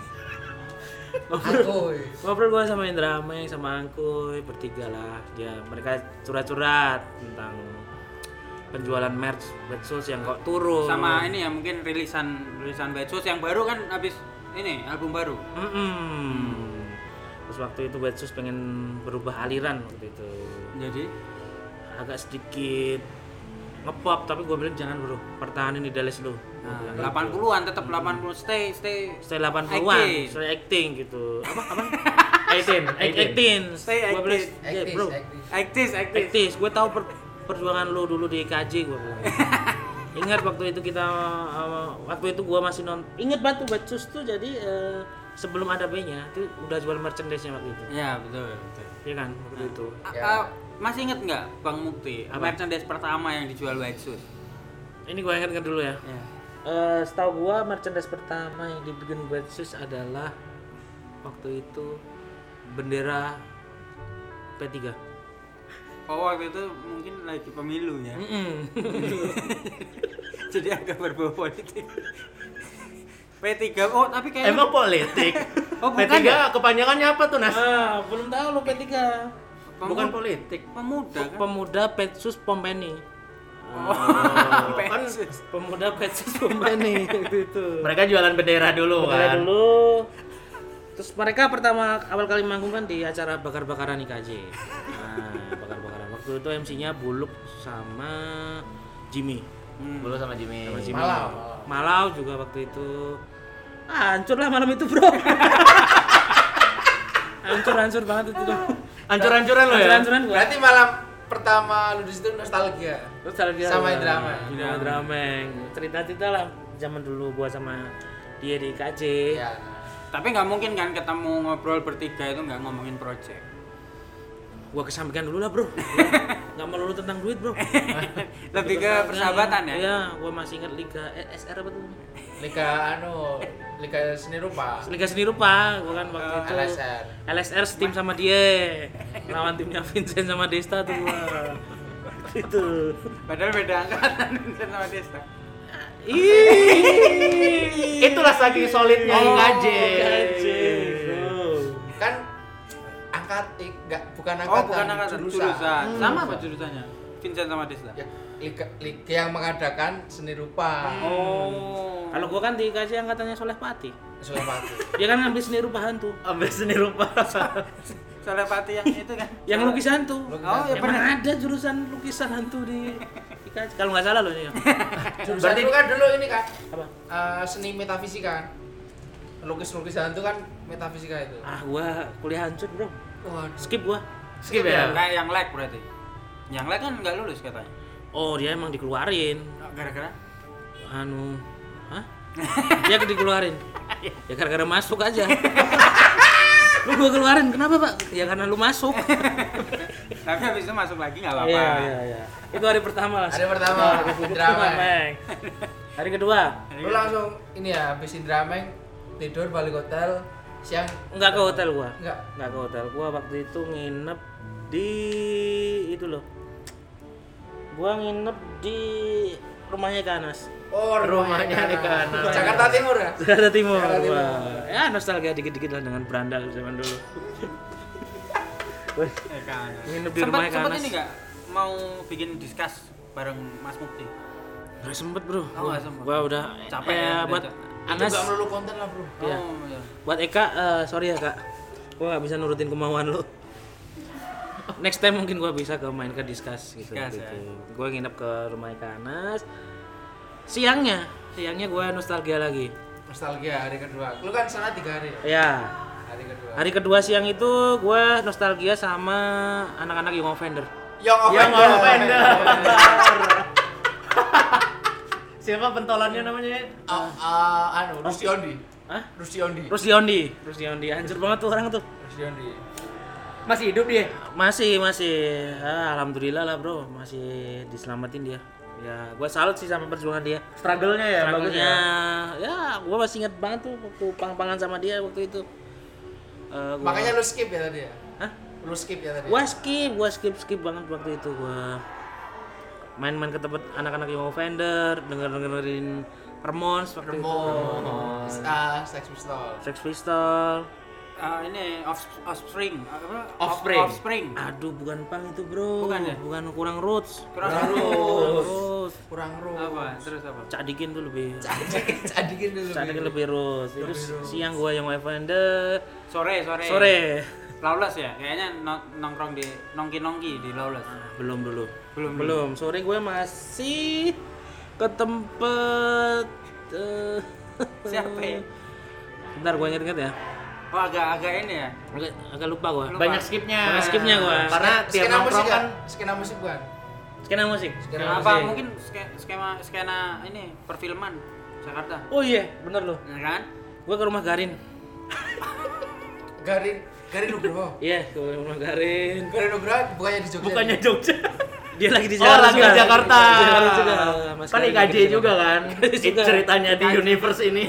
Speaker 4: Angkuy.
Speaker 1: Ngobrol gua sama Indra Ameng sama Angkuy bertiga lah. Mereka curhat-curhat tentang penjualan merch Wet Shoes yang kok turun.
Speaker 3: Sama ini ya mungkin rilisan Wet Shoes yang baru kan habis ini album baru.
Speaker 1: Terus waktu itu Wet Shoes pengen berubah aliran waktu itu.
Speaker 3: Jadi
Speaker 1: Agak sedikit ngepop tapi gue bilang jangan bro, pertahanin idealis lu.
Speaker 3: nah, 80-an tetap 80 stay
Speaker 1: Stay 80-an,
Speaker 3: acting.
Speaker 1: stay acting gitu. Apa?
Speaker 2: 18.
Speaker 3: Stay
Speaker 1: Gua bilang,
Speaker 3: active.
Speaker 1: "Ya, bro,
Speaker 3: aktif
Speaker 1: aktis. Gue tahu perjuangan lu dulu di KJ gue bilang. Ingat waktu itu kita waktu itu gua masih ingat banget tuh Batsus tuh jadi sebelum ada B-nya itu udah jual merchandise-nya waktu itu.
Speaker 3: Iya, betul.
Speaker 1: Iya kan waktu itu.
Speaker 3: Masih inget nggak Bang Mukti merchandise pertama yang dijual Batsus?
Speaker 1: Ini gua ingat dulu ya.
Speaker 3: Iya.
Speaker 1: Setahu gua merchandise pertama yang dibikin Batsus adalah waktu itu bendera P3.
Speaker 3: Oh, waktu itu mungkin lagi pemilu ya. Jadi agak berbau politik. P3. Oh, tapi kayak
Speaker 2: Emang politik.
Speaker 3: Oh, bukan
Speaker 2: P3
Speaker 3: ya?
Speaker 2: kepanjangannya apa tuh, Nas?
Speaker 1: Belum tahu lo P3.
Speaker 2: Bukan politik.
Speaker 3: Pemuda kan?
Speaker 1: Pemuda Petsus Pompeni.
Speaker 2: Kan
Speaker 1: Pemuda Petsus Pompeni itu.
Speaker 2: mereka jualan bendera dulu
Speaker 1: Bendera
Speaker 2: kan.
Speaker 1: dulu. Terus mereka pertama awal kali manggung kan di acara bakar-bakaran IKJ. Nah, bakar-bakaran. Waktu itu MC-nya Buluk sama Jimmy.
Speaker 2: Dulu sama Jimmy.
Speaker 1: Malau juga waktu itu. Hancur lah malam itu, Bro. Hancur banget itu tuh.
Speaker 2: Hancur-hancuran lo ya?
Speaker 1: Hancur-hancuran gua.
Speaker 4: Berarti malam pertama lu di situ nostalgia. Sama
Speaker 1: Indrameng. Cerita-cerita lah zaman dulu gua sama dia di IKJ.
Speaker 4: Ya.
Speaker 3: Tapi nggak mungkin kan ketemu ngobrol bertiga itu nggak ngomongin project.
Speaker 1: Gua kesampingkan dulu lah, Bro. Nggak melulu tentang duit, Bro.
Speaker 3: Lebih ke persahabatan ya?
Speaker 1: Iya, gua masih ingat Liga SR apa tuh?
Speaker 4: Liga Seni Rupa.
Speaker 1: Liga Seni Rupa, gua kan waktu itu
Speaker 4: LSR.
Speaker 1: setim sama dia. Lawan timnya Vincent sama Desta tuh gua. Gitu.
Speaker 3: Padahal beda angkatan Vincent sama Desta.
Speaker 2: Itulah saking solidnya IKJ.
Speaker 4: Kan bukan angkatan,
Speaker 3: jurusan. Sama apa jurusannya? Vincent sama Desta.
Speaker 4: Ya, liga yang mengadakan Seni Rupa.
Speaker 1: Kalau gua kan di IKJ angkatannya Soleh Pati.
Speaker 4: Sulawesi.
Speaker 1: Dia kan ngambil seni rupa hantu.
Speaker 2: Ambil seni rupa.
Speaker 3: Soalnya Pati yang itu kan.
Speaker 1: Yang lukis hantu.
Speaker 3: Oh, ya
Speaker 1: Emang
Speaker 3: benar.
Speaker 1: ada jurusan lukisan hantu di IKJ. Kalau nggak salah loh ini.
Speaker 4: Jurusan itu kan dulu ini kan
Speaker 1: Apa?
Speaker 4: seni metafisika. Lukis hantu kan metafisika itu.
Speaker 1: Gua kuliah hancur, Bro.
Speaker 4: Waduh.
Speaker 1: Skip gua.
Speaker 2: Skip ya.
Speaker 3: Kayak yang lag berarti. Yang lag kan nggak lulus katanya.
Speaker 1: Oh, dia emang dikeluarin.
Speaker 3: Gara-gara?
Speaker 1: Hah? Dia dikeluarin. Ya gara-gara masuk aja. Lu gua keluarin, kenapa, Pak? Ya karena lu masuk.
Speaker 3: Tapi habis itu masuk lagi nggak apa-apa.
Speaker 1: Iya. Itu hari pertama lah.
Speaker 4: Hari pertama, Indrameng.
Speaker 1: Hari kedua,
Speaker 4: Lu langsung ini ya, habis Indrameng tidur balik hotel siang.
Speaker 1: enggak ke hotel gua.
Speaker 4: Enggak.
Speaker 1: Enggak ke hotel. Gua waktu itu nginep di itu loh. Gua nginep di rumahnya Kanas.
Speaker 4: Oh,
Speaker 2: Rumahnya di kanan.
Speaker 4: Jakarta Timur ya?
Speaker 1: Jakarta Timur.
Speaker 4: Jakarta Timur.
Speaker 1: Wah. Ya nostalgia dikit-dikit lah dengan berandal zaman dulu. Nginep di rumahnya
Speaker 3: Sempet
Speaker 1: Kanas.
Speaker 3: ini nggak mau bikin diskus bareng Mas Mukti?
Speaker 1: Nggak sempet, Bro.
Speaker 3: Nggak sempet.
Speaker 1: Gua udah
Speaker 3: Capek ya,
Speaker 1: buat
Speaker 3: udah
Speaker 4: Itu
Speaker 1: Anas.
Speaker 4: enggak melulu konten lah, Bro.
Speaker 1: Iya.
Speaker 3: Oh, iya.
Speaker 1: Buat Eka, sorry ya, Kak. Gua nggak bisa nurutin kemauan lu. Next time mungkin gua bisa main ke diskus gitu.
Speaker 3: Discuss,
Speaker 1: gitu.
Speaker 3: ya.
Speaker 1: Gua nginep ke rumah Kanas. Siangnya gua nostalgia lagi.
Speaker 4: Nostalgia hari kedua. Lu kan sana 3 hari.
Speaker 1: Ya.
Speaker 4: Hari kedua.
Speaker 1: Hari kedua siang itu gua nostalgia sama anak-anak Young Offender.
Speaker 4: Young
Speaker 2: Yang
Speaker 4: Offender.
Speaker 2: Siapa pentolannya namanya?
Speaker 4: Rusdiondi.
Speaker 1: Hah?
Speaker 4: Rusdiondi.
Speaker 1: Rusdiondi. Hancur banget tuh orang tuh.
Speaker 4: Rusdiondi.
Speaker 2: Masih hidup dia?
Speaker 1: Masih. Alhamdulillah lah, Bro. Masih diselamatin dia. Ya, gua salut sih sama perjuangan dia.
Speaker 2: Struggle-nya ya bagus
Speaker 1: Struggle-nya,
Speaker 2: ya.
Speaker 1: ya gua masih ingat banget tuh waktu pang-pangan sama dia waktu itu.
Speaker 4: Makanya lu skip ya tadi ya?
Speaker 1: Hah?
Speaker 4: Lu skip ya tadi?
Speaker 1: Gua skip banget waktu itu. Gua main-main ke tempat anak-anak Young Offender, dengerin Ramones waktu itu. Sex Pistol.
Speaker 3: Ini Offspring. Apa?
Speaker 2: Offspring.
Speaker 3: Offspring.
Speaker 1: Aduh, bukan pang itu, Bro.
Speaker 3: Bukan ya?
Speaker 1: Bukan kurang roots.
Speaker 3: Kurang roots.
Speaker 4: Kurang roh.
Speaker 3: Apa? Terus apa?
Speaker 1: Cak Dikin tuh lebih.
Speaker 4: Cadikin dulu.
Speaker 1: Cak Dikin lebih roots. Itu siang gua Young Offender.
Speaker 3: Sore. Lawless ya? Kayaknya nongkrong di nongki-nongki di Lawless.
Speaker 1: Belum dulu.
Speaker 3: Belum.
Speaker 1: Sore gue masih ke tempat
Speaker 3: Siapa ya?
Speaker 1: Bentar gue inget-inget ya.
Speaker 3: Oh, agak ini ya.
Speaker 1: Agak lupa gue.
Speaker 2: Banyak skipnya.
Speaker 1: Banyak skipnya gua.
Speaker 2: Karena tiap
Speaker 4: Skena musik
Speaker 2: nongkrong kan
Speaker 4: kan? Skena musik bukan?
Speaker 1: Skena musik.
Speaker 3: Apa mungkin skena ini perfilman Jakarta.
Speaker 1: Oh iya, bener loh.
Speaker 3: Ya kan?
Speaker 1: Gue ke rumah Garin.
Speaker 4: Garin Nugroho.
Speaker 1: Iya, ke rumah Garin.
Speaker 4: Garin Nugroho bukannya di Jogja.
Speaker 2: Bukannya Jogja.
Speaker 1: Dia lagi di
Speaker 2: Oh,
Speaker 1: Jakarta.
Speaker 2: lagi di Jakarta.
Speaker 1: Di Jakarta juga. Mas
Speaker 2: Kan
Speaker 1: Garin
Speaker 2: IKJ
Speaker 1: lagi di
Speaker 2: juga
Speaker 1: Jakarta.
Speaker 2: kan.
Speaker 1: juga.
Speaker 2: Ceritanya di universe ini.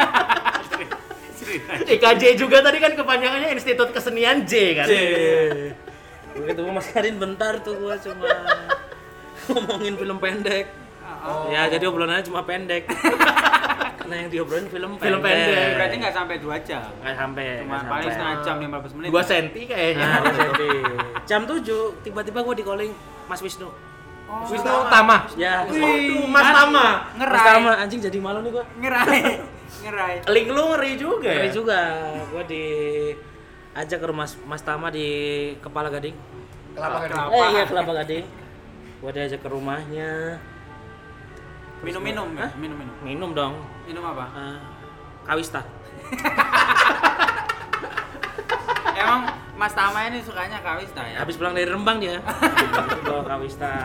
Speaker 2: IKJ juga tadi kan kepanjangannya Institut Kesenian J kan.
Speaker 1: Gue ketemu Mas Garin bentar tuh, gue cuma ngomongin film pendek. Ya jadi obrolannya cuma pendek. Karena yang diobrolin film pendek.
Speaker 3: Berarti nggak sampai 2 jam.
Speaker 1: Nggak sampai.
Speaker 3: Cuma paling setengah jam 15 menit.
Speaker 2: 2 senti kayaknya.
Speaker 1: Nah, jadi jam 7 tiba-tiba gue di calling Mas Wisnu.
Speaker 2: Wisnu Tama.
Speaker 1: Ya.
Speaker 2: Waduh, Mas Tama.
Speaker 1: Mas Tama anjing jadi malu nih gue.
Speaker 3: Ngerai.
Speaker 2: Link lu ngeri juga ya?
Speaker 1: Ngeri juga. Gue diajak ke rumah Mas Tama di Kepala Gading.
Speaker 4: Kelapa Gading.
Speaker 1: Iya Kelapa Gading. Gue diajak ke rumahnya.
Speaker 3: Minum-minum ya? Minum-minum.
Speaker 1: Minum dong.
Speaker 3: Minum apa?
Speaker 1: Kawista.
Speaker 3: Emang Mas Tama ini sukanya Kawista ya?
Speaker 1: Habis pulang dari Rembang dia. Bawa Kawista.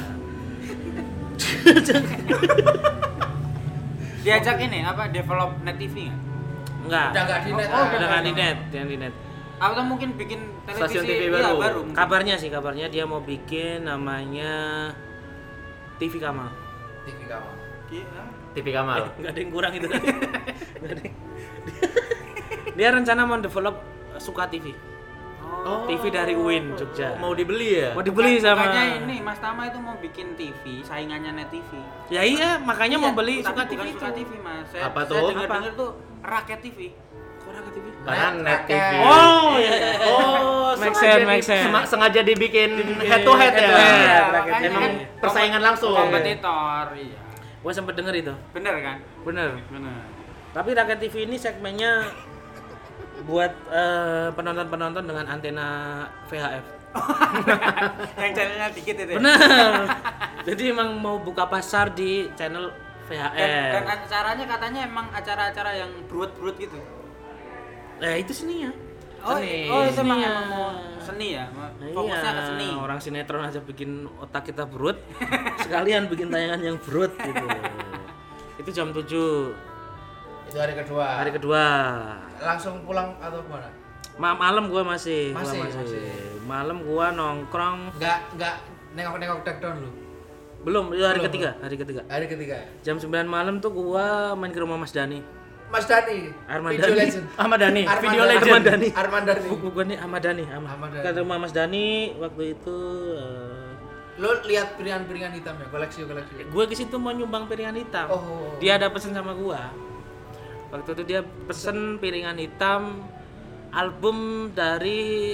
Speaker 3: Diajak ini apa? Develop Net TV nggak?
Speaker 1: Enggak.
Speaker 4: Udah enggak di net.
Speaker 1: Udah nggak di net, yang di net.
Speaker 3: Atau mungkin bikin televisi
Speaker 2: Stasiun TV
Speaker 3: iya,
Speaker 2: baru.
Speaker 3: baru.
Speaker 1: Kabarnya dia mau bikin namanya TV Kamal.
Speaker 4: TV kamu.
Speaker 3: Iya.
Speaker 2: TV Kamal.
Speaker 1: Enggak ada yang kurang itu tadi. Nggak ada yang- Dia rencana mau develop Suka TV.
Speaker 3: Oh.
Speaker 1: TV dari UIN Jogja.
Speaker 2: Mau dibeli ya?
Speaker 1: Mau dibeli sama.
Speaker 3: Makanya ini Mas Tama itu mau bikin TV saingannya Net TV.
Speaker 1: Ya iya, makanya mau beli
Speaker 3: Tapi
Speaker 1: Suka
Speaker 3: bukan
Speaker 1: TV itu.
Speaker 3: Suka TV Mas.
Speaker 2: Apa
Speaker 3: Saya
Speaker 2: tuh?
Speaker 3: dengar tuh Rakyat TV.
Speaker 1: Suka TV.
Speaker 2: Karena Net TV.
Speaker 1: Oh, iya.
Speaker 2: Oh,
Speaker 1: Make
Speaker 2: sengaja
Speaker 1: sense, make sense.
Speaker 2: sengaja dibikin head to head ya.
Speaker 1: head to head.
Speaker 3: Iya,
Speaker 1: Rakyat
Speaker 3: makanya
Speaker 1: TV.
Speaker 3: kan
Speaker 2: Persaingan langsung.
Speaker 3: kompetitor, iya.
Speaker 1: Gua sempet denger itu.
Speaker 3: Bener kan?
Speaker 1: Bener.
Speaker 3: Bener.
Speaker 1: Tapi Rakyat TV ini segmennya buat penonton-penonton dengan antena VHF.
Speaker 3: Yang channelnya dikit itu. Ya?
Speaker 1: Bener. Jadi emang mau buka pasar di channel VHF.
Speaker 3: Dan acaranya katanya emang acara-acara yang brut-brut gitu.
Speaker 1: Itu seninya.
Speaker 3: Oh,
Speaker 1: Seni.
Speaker 3: itu emang
Speaker 1: Seninya.
Speaker 3: mau seni ya?
Speaker 1: Nah,
Speaker 3: Fokusnya ke seni.
Speaker 1: Orang sinetron aja bikin otak kita brut. Sekalian bikin tayangan yang brut gitu. Itu jam 7
Speaker 4: Itu hari kedua.
Speaker 1: hari kedua.
Speaker 4: Langsung pulang atau gimana?
Speaker 1: Malam gua masih.
Speaker 4: Masih.
Speaker 1: Malam gua nongkrong.
Speaker 4: Enggak nengok take down lu.
Speaker 1: Belum, itu hari
Speaker 4: Belum.
Speaker 1: ketiga.
Speaker 4: Hari ketiga.
Speaker 1: Jam 9 malam tuh gua main ke rumah Mas Dani.
Speaker 4: Mas Dani.
Speaker 1: Arman
Speaker 4: Video
Speaker 1: Dani.
Speaker 4: legend.
Speaker 2: Ahmad Dhani,
Speaker 4: Arman
Speaker 2: video
Speaker 4: Dhani.
Speaker 2: legend.
Speaker 1: Arman Dhani.
Speaker 4: Arman Dhani.
Speaker 1: Bukan nih Ahmad Dhani.
Speaker 4: Ahmad Dhani.
Speaker 1: Ke rumah Mas Dani waktu itu
Speaker 4: Lo lihat piringan-piringan hitam ya, koleksi.
Speaker 1: gue ke situ mau nyumbang piringan hitam.
Speaker 4: Oh.
Speaker 1: Dia ada pesen sama gua. Waktu itu dia pesen piringan hitam album dari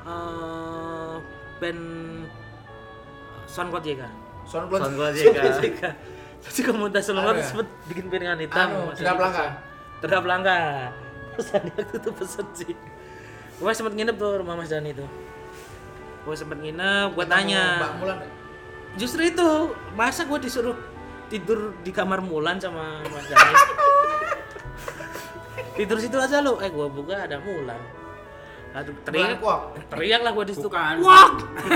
Speaker 1: band Soundcloud JK.
Speaker 4: Soundcloud.
Speaker 2: JK.
Speaker 1: Jadi komunitas Soundcloud
Speaker 4: Ada ya?
Speaker 1: sempet bikin piringan hitam.
Speaker 4: Derap langka.
Speaker 1: Terhadap langka. Terus Dani waktu itu pesen sih. Gue sempet nginep tuh rumah Mas Dani tuh. Gue sempet nginep, gue tanya.
Speaker 4: Mbak Mulan.
Speaker 1: Justru itu, masa gue disuruh tidur di kamar Mulan sama Mas Dani? Tidur situ aja lo, gue buka ada Mulan. Aduh, teriak,
Speaker 4: Mulan kuak.
Speaker 1: teriak lah gue di situ.
Speaker 3: Bukan.
Speaker 1: Kuak!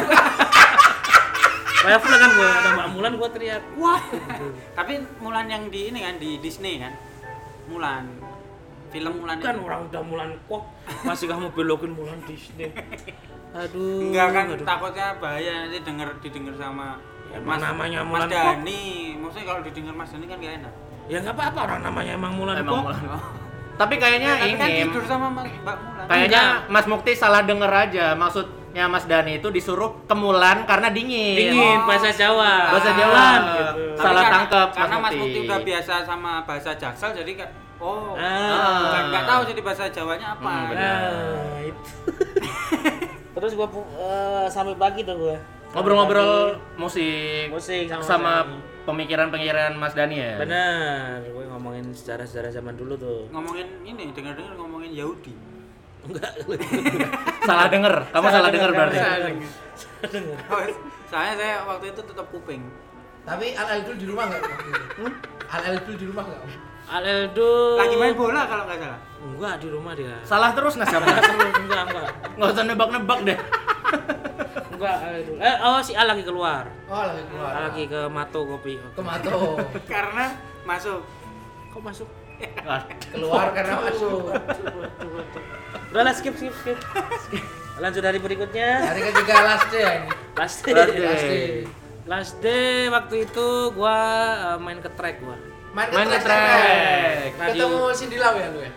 Speaker 1: Kayak full kan gue, ada Mbak Mulan gue teriak, kuak!
Speaker 3: Tapi Mulan yang di ini kan di Disney kan? Mulan. Film Mulan
Speaker 1: Kan
Speaker 3: itu.
Speaker 1: orang udah Mulan kuak, masih kamu belokin Mulan Disney. Aduh.
Speaker 3: Enggak kan
Speaker 1: aduh.
Speaker 3: takutnya bahaya nanti didengar sama
Speaker 1: Ya, namanya
Speaker 3: Mas
Speaker 1: Mulan
Speaker 3: Dani. Maksudnya kalau didengar Mas Dani kan gak enak.
Speaker 1: Ya nggak apa-apa, orang namanya emang Mulan
Speaker 2: Emang
Speaker 1: kuak.
Speaker 2: Mulan. Tapi kayaknya
Speaker 3: Tapi kan
Speaker 2: ini
Speaker 3: tidur sama Mbak Mulan.
Speaker 2: kayaknya Mas Mukti salah denger aja. Maksudnya Mas Dani itu disuruh ke Mulan karena dingin.
Speaker 1: Dingin, bahasa Jawa.
Speaker 2: Bahasa Jawa.
Speaker 1: Mulan, gitu.
Speaker 3: Tapi
Speaker 2: Salah
Speaker 3: karena-
Speaker 2: tangkap
Speaker 3: Karena
Speaker 2: Mas
Speaker 3: Mas
Speaker 2: Mukti.
Speaker 3: Mukti udah biasa sama bahasa Jaksel jadi kan
Speaker 1: Ah.
Speaker 3: nggak tahu jadi bahasa Jawanya apa.
Speaker 1: Nah, itu. Terus gua sampai pagi tuh gua.
Speaker 2: Ngobrol-ngobrol musik
Speaker 1: Musik
Speaker 2: sama
Speaker 1: Dani.
Speaker 2: pemikiran-pemikiran Mas Dani ya.
Speaker 1: Benar, gue ngomongin sejarah-sejarah zaman dulu tuh.
Speaker 3: Ngomongin ini dengar-dengar ngomongin Yahudi.
Speaker 1: Enggak.
Speaker 2: Salah denger. Kamu salah denger berarti.
Speaker 3: Soalnya saya waktu itu tutup kuping.
Speaker 4: Tapi Al-Aldul di rumah enggak waktu itu? Al-Aldul di rumah enggak?
Speaker 1: Aleldo.
Speaker 3: Lagi main bola kalau nggak salah.
Speaker 1: Enggak di rumah dia.
Speaker 2: Salah terus Nas kamu.
Speaker 1: Enggak.
Speaker 2: Nggak usah nebak-nebak deh.
Speaker 1: Enggak, si A lagi keluar.
Speaker 4: Oh, lagi keluar.
Speaker 1: Lagi ke Mato kopi.
Speaker 4: Ke Mato.
Speaker 3: Karena masuk.
Speaker 1: Kok masuk?
Speaker 4: Keluar karena masuk.
Speaker 1: Udah lah, skip. Lanjut dari berikutnya.
Speaker 4: Hari ketiga last day ya ini.
Speaker 1: Last day waktu itu gua main ke track gua.
Speaker 4: Main ke track. Ketemu Cindy Lau ya lu ya?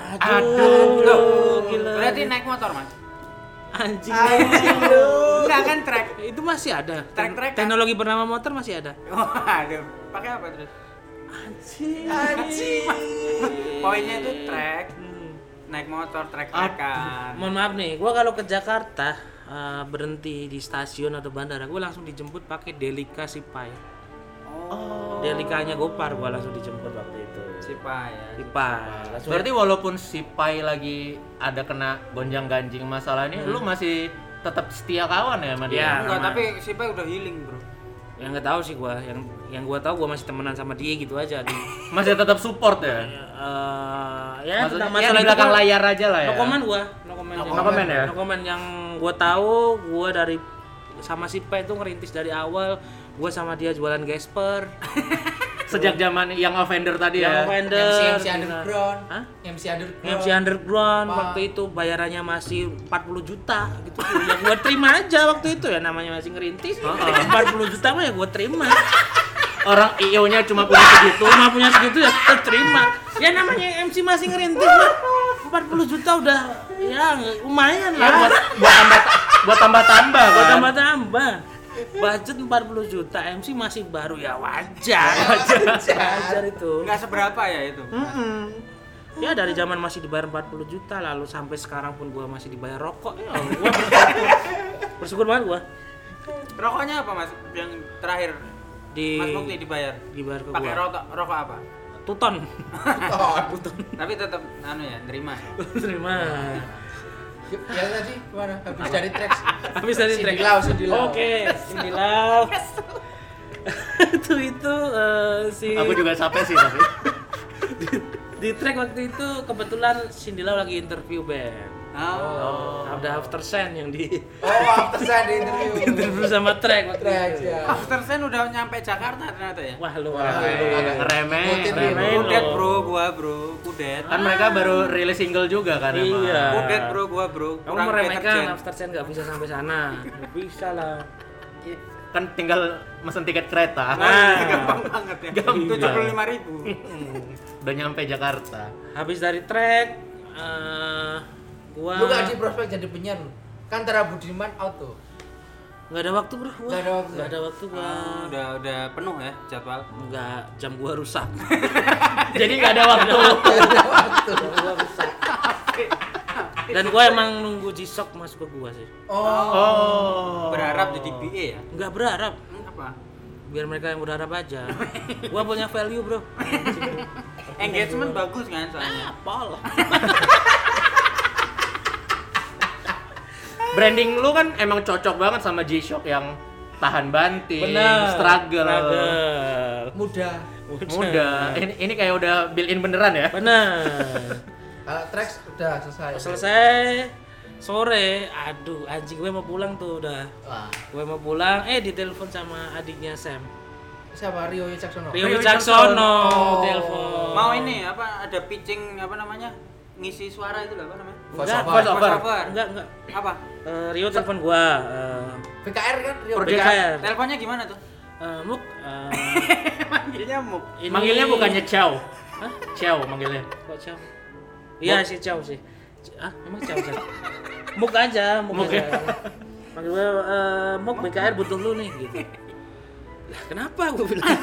Speaker 1: Aduh, gila.
Speaker 3: Berarti naik motor, Mas?
Speaker 1: Anjing.
Speaker 3: Enggak kan track.
Speaker 1: Itu masih ada.
Speaker 3: Track.
Speaker 1: Teknologi bernama motor masih ada.
Speaker 3: Aduh, pakai apa terus?
Speaker 1: Anjing.
Speaker 3: Poinnya itu track. Naik motor trek-trekan.
Speaker 1: Mohon maaf nih, gua kalau ke Jakarta berhenti di stasiun atau bandara, gua langsung dijemput pakai Delica Sipai. Delicanya Gopar gua langsung dijemput waktu itu.
Speaker 3: Sipai.
Speaker 2: Berarti walaupun Sipai lagi ada kena gonjang-ganjing masalah ini, lu masih tetap setia kawan ya sama dia?
Speaker 1: Ya,
Speaker 3: enggak, tapi Sipai udah healing, Bro.
Speaker 1: Yang nggak tahu sih gua, yang gua tahu gua masih temenan sama dia gitu aja.
Speaker 2: Masih tetap support ya?
Speaker 1: Ya,
Speaker 2: maksudnya
Speaker 1: masalah
Speaker 2: di belakang layar aja lah ya.
Speaker 1: No comment ya. No comment yang gua tahu, gua dari sama si P itu ngerintis dari awal. Gua sama dia jualan Gasper.
Speaker 2: Sejak zaman yang Offender tadi ya.
Speaker 4: MC Underground. Hah? MC
Speaker 1: Underground waktu itu bayarannya masih 40 juta gitu. Ya gua terima aja waktu itu ya, namanya masih ngerintis. 40 juta mah ya gua terima.
Speaker 2: Orang IO-nya cuma punya segitu
Speaker 1: ya terima. Ya namanya MC masih ngerintis lah. 40 juta udah ya lumayan lah
Speaker 2: buat tambah-tambah.
Speaker 1: Budget 40 juta, MC masih baru ya wajar itu.
Speaker 3: Enggak seberapa ya itu.
Speaker 1: Ya dari zaman masih dibayar 40 juta lalu sampai sekarang pun gua masih dibayar rokok. Ya gua bersyukur banget gua.
Speaker 3: Rokoknya apa, Mas? Yang terakhir Mas Mukti dibayar
Speaker 1: ke gua.
Speaker 3: Pakai rokok apa?
Speaker 1: Tuton.
Speaker 3: Tapi tetap nerima.
Speaker 1: Terima.
Speaker 4: Yang tadi kemana? Habis dari track. Cindy Lau. Oke,
Speaker 1: Cindy Lau. itu si.
Speaker 2: Aku juga capek sih tapi.
Speaker 1: Di track waktu itu kebetulan Cindy Lau lagi interview band. Ada After Sen yang di
Speaker 4: After Sen di
Speaker 1: interview sama track waktu itu.
Speaker 4: Ya.
Speaker 3: After Sen udah nyampe Jakarta ternyata ya.
Speaker 1: Wah lu
Speaker 2: agak ngeremehin.
Speaker 3: Kudet bro. Kudet.
Speaker 2: Kan mereka baru rilis single juga kan emang.
Speaker 1: Iya.
Speaker 3: Kudet bro.
Speaker 1: Kamu meremehkan After Sen enggak bisa sampai sana. Bisa lah.
Speaker 2: Kan tinggal mesen tiket kereta.
Speaker 3: Gampang banget ya. 75.000.
Speaker 2: Udah nyampe Jakarta.
Speaker 1: Habis dari track gua
Speaker 4: lu gak di prospek jadi penyiar lu? Kan Tara Budiman out tuh.
Speaker 1: Gak ada waktu bro.
Speaker 4: Gak ada waktu
Speaker 3: gua. Udah penuh ya jadwal.
Speaker 1: Enggak, jam gua rusak.
Speaker 2: Jadi gak ada waktu.
Speaker 1: Jam gua rusak. Dan gua emang nunggu G-Shock masuk ke gua sih.
Speaker 3: Berharap jadi BA ya?
Speaker 1: Enggak berharap.
Speaker 3: Apa?
Speaker 1: Biar mereka yang berharap aja. Gua punya value bro.
Speaker 3: Engagement bagus kan soalnya.
Speaker 1: Pol.
Speaker 2: Branding lu kan emang cocok banget sama G-Shock yang tahan banting, struggle.
Speaker 4: Muda.
Speaker 2: Ini kayak udah built-in beneran ya?
Speaker 1: Bener.
Speaker 4: Kalau tracks udah
Speaker 1: selesai. Sore, aduh anjing gue mau pulang tuh udah. Gue mau pulang, ditelepon sama adiknya Sam.
Speaker 4: Siapa? Rio Wicaksono.
Speaker 1: Telepon.
Speaker 3: Mau ini ada pitching ngisi suara itu apa namanya?
Speaker 1: Voice over. Enggak.
Speaker 3: Apa?
Speaker 1: Rio telepon gua.
Speaker 4: VKR kan? Rio.
Speaker 1: VKR.
Speaker 3: Teleponnya gimana tuh?
Speaker 1: Muk.
Speaker 3: Manggilnya Muk.
Speaker 2: Manggilnya bukannya Chow. Hah? Chow manggilnya.
Speaker 1: Kok Chow? Iya si Chow sih. Emang Chow sih. Muk aja. Manggil gua Muk VKR butuh lu nih gitu. Lah kenapa gua bilang?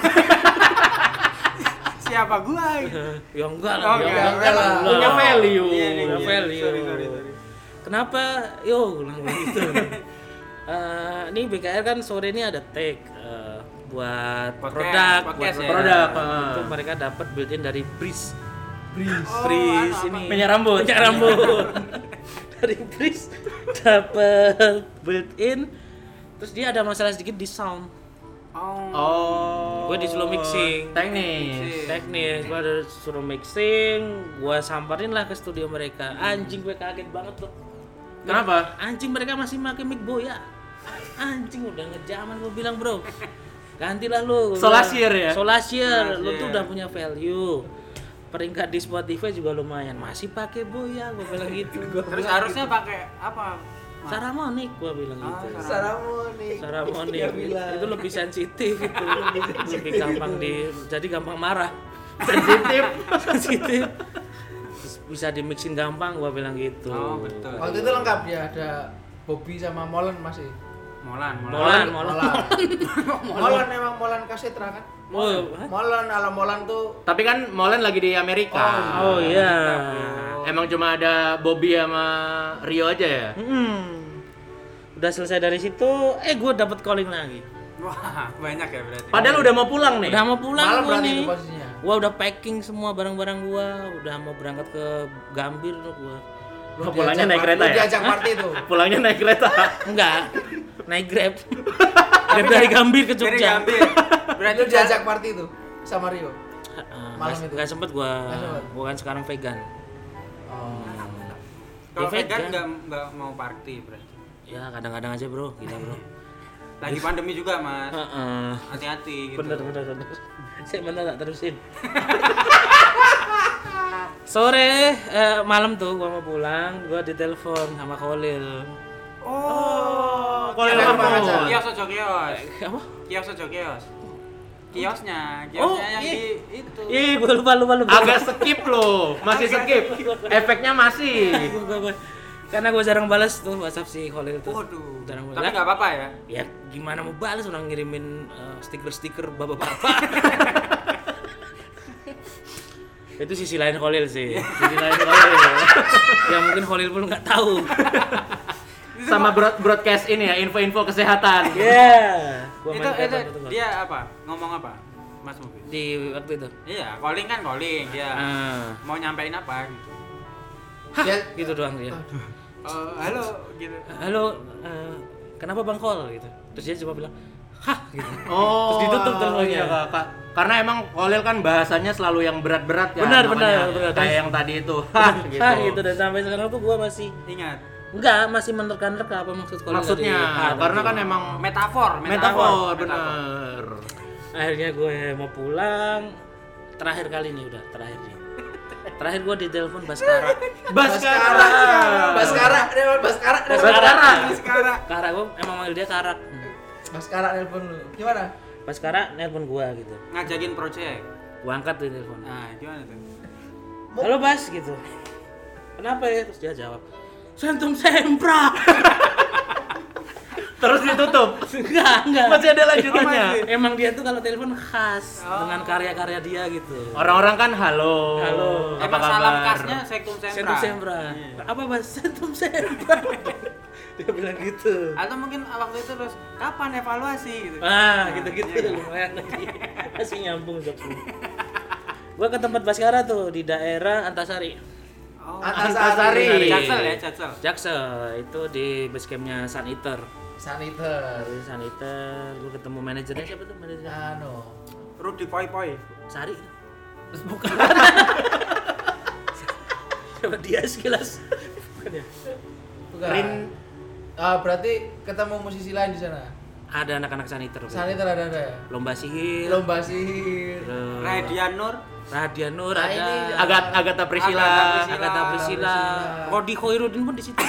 Speaker 3: Siapa gua?
Speaker 1: Ya enggak lah.
Speaker 2: Punya value.
Speaker 3: Sorry.
Speaker 1: Kenapa? Yo, gitu. Ini BKR kan sore ini ada take buat produk. Itu mereka dapat built-in dari Breeze ini.
Speaker 2: Minyak rambut.
Speaker 1: Dari Breeze dapat built-in. Terus dia ada masalah sedikit di sound. Gue disuruh mixing. Teknis. Gue disuruh mixing. Gue samperin lah ke studio mereka. Anjing gue kaget banget tuh.
Speaker 2: Kenapa?
Speaker 1: Anjing mereka masih pakai mic Boya. Anjing udah ngejaman gue bilang, bro. Gantilah lu.
Speaker 2: Solasier ya?
Speaker 1: Solasier. Lu tuh udah punya value. Peringkat di Spotify juga lumayan. Masih pakai Boya, gue bilang gitu.
Speaker 3: Terus harusnya pakai apa?
Speaker 1: Saramonic gue bilang gitu. Saramonic. Itu lebih sensitif itu. Lebih gampang jadi gampang marah. Sensitif. Terus bisa dimixin gampang gue bilang gitu.
Speaker 3: Oh, betul.
Speaker 4: Waktu itu lengkap ya, ada Bobby sama Molen masih.
Speaker 3: Molan.
Speaker 4: Molen emang Molen Kasetra kan? Molen ala Molen tuh.
Speaker 2: Tapi kan Molen lagi di Amerika.
Speaker 1: Oh iya.
Speaker 2: Emang cuma ada Bobby sama Rio aja ya?
Speaker 1: Udah selesai dari situ, gue dapet calling lagi.
Speaker 3: Wah, banyak ya berarti.
Speaker 2: Padahal udah mau pulang nih.
Speaker 1: Udah mau pulang
Speaker 4: Malam
Speaker 1: gue
Speaker 4: berarti
Speaker 1: nih.
Speaker 4: itu posisinya.
Speaker 1: Gua udah packing semua barang-barang gua, udah mau berangkat ke Gambir tuh gua.
Speaker 2: Pulangnya naik kereta ya?
Speaker 4: Diajak party tuh.
Speaker 2: Pulangnya naik kereta.
Speaker 1: Enggak, naik Grab. Grab dari Gambir ke
Speaker 3: Dari
Speaker 1: Jogja.
Speaker 3: Gambir.
Speaker 4: Berarti diajak party tuh sama Rio. Malam itu.
Speaker 1: Gak sempet gua kan sekarang vegan.
Speaker 3: Kalau
Speaker 1: Ya,
Speaker 3: vegan
Speaker 1: vegan.
Speaker 3: nggak mau party berarti.
Speaker 1: Ya kadang-kadang aja bro, gila bro.
Speaker 3: Lagi pandemi juga mas.
Speaker 1: Heeh.
Speaker 3: Hati-hati gitu.
Speaker 1: Bener. Saya bener tak terusin. Sore malam tuh gua mau pulang, gua ditelepon sama Khalil.
Speaker 3: Oh,
Speaker 2: Khalil
Speaker 4: apa?
Speaker 3: kios ojo kios.
Speaker 1: Apa?
Speaker 3: Kios ojo kios. Kiosnya
Speaker 1: Oh,
Speaker 3: yang
Speaker 1: iya.
Speaker 3: di itu.
Speaker 1: Ih, gua lupa.
Speaker 2: Agak skip loh, masih skip. Efeknya masih.
Speaker 1: Gua. Karena gue jarang balas tuh WhatsApp si Khalil tuh.
Speaker 3: Waduh.
Speaker 1: Jarang
Speaker 3: Tapi
Speaker 1: balas.
Speaker 3: nggak apa-apa ya.
Speaker 1: Ya gimana mau balas orang ngirimin stiker-stiker bapak-bapak. Itu sisi lain Khalil sih. Sisi lain Khalil. Yang mungkin Khalil pun nggak tahu.
Speaker 2: Sama broadcast ini ya, info-info kesehatan.
Speaker 1: Yeah.
Speaker 3: Itu dia apa? Ngomong apa? Mas Mubi.
Speaker 1: Di waktu itu.
Speaker 3: Iya, calling dia. Mau nyampein apa gitu.
Speaker 1: Gitu doang dia.
Speaker 3: Halo gitu.
Speaker 1: Halo, kenapa Bang Kol gitu. Terus dia cuma bilang, "Hah," gitu.
Speaker 2: Oh,
Speaker 1: Terus ditutup teleponnya.
Speaker 2: iya, Kak. Karena emang Khalil kan bahasanya selalu yang berat-berat ya.
Speaker 1: Benar.
Speaker 2: Kayak yang tadi itu. Hah, gitu.
Speaker 1: Hah gitu, dan sampai sekarang tuh gua masih
Speaker 3: Ingat.
Speaker 1: masih menerka-nerka apa maksud Khalil
Speaker 2: Maksudnya,
Speaker 1: tadi.
Speaker 2: karena kan emang
Speaker 3: Metafor.
Speaker 2: bener.
Speaker 1: Akhirnya gue mau pulang. Terakhir kali nih. Terakhir gue ditelepon Baskara.
Speaker 4: Baskara.
Speaker 1: Kara, gue emang manggil dia Karak.
Speaker 4: Baskara nelpon lu. Gimana?
Speaker 1: Baskara nelpon gue gitu.
Speaker 3: Ngajakin project.
Speaker 1: Gue angkat tuh telepon.
Speaker 3: Nah, gimana tuh?
Speaker 1: Halo Bas gitu. Kenapa ya? Terus dia jawab, Sentum Sempra.
Speaker 2: Terus ditutup.
Speaker 1: Enggak.
Speaker 2: Masih ada lanjutannya.
Speaker 1: Emang dia tuh kalau telepon khas dengan karya-karya dia gitu.
Speaker 2: Orang-orang kan halo. Apa
Speaker 3: Emang salam
Speaker 2: kabar?
Speaker 3: khasnya Sektum Sempra.
Speaker 1: Sentum Sempra. Apa Bas? Sentum Sempra. Dia bilang gitu.
Speaker 3: Atau mungkin waktu itu terus kapan evaluasi gitu.
Speaker 1: Gitu-gitu
Speaker 3: iya.
Speaker 1: lumayan lagi. Masih nyambung jokesnya. Gua ke tempat Baskara tuh di daerah Antasari.
Speaker 3: Oh,
Speaker 2: Antasari.
Speaker 3: Jaksel.
Speaker 1: Itu di basecampnya Sun Eater.
Speaker 4: Saniter.
Speaker 1: Gua ketemu manajernya siapa tuh manajernya?
Speaker 3: Rudi Poi.
Speaker 1: Sari. Terus bukan. Siapa dia sekilas? Bukan ya?
Speaker 4: Bukan. Berarti ketemu musisi lain di sana.
Speaker 1: Ada anak-anak Saniter.
Speaker 4: Saniter ada ya.
Speaker 1: Lomba sihir.
Speaker 4: Terus
Speaker 3: Radian Nur
Speaker 4: Nah,
Speaker 3: ada.
Speaker 4: ini
Speaker 2: Agatha Priscilla.
Speaker 1: Agatha Priscilla. Rodi Khairuddin pun di situ.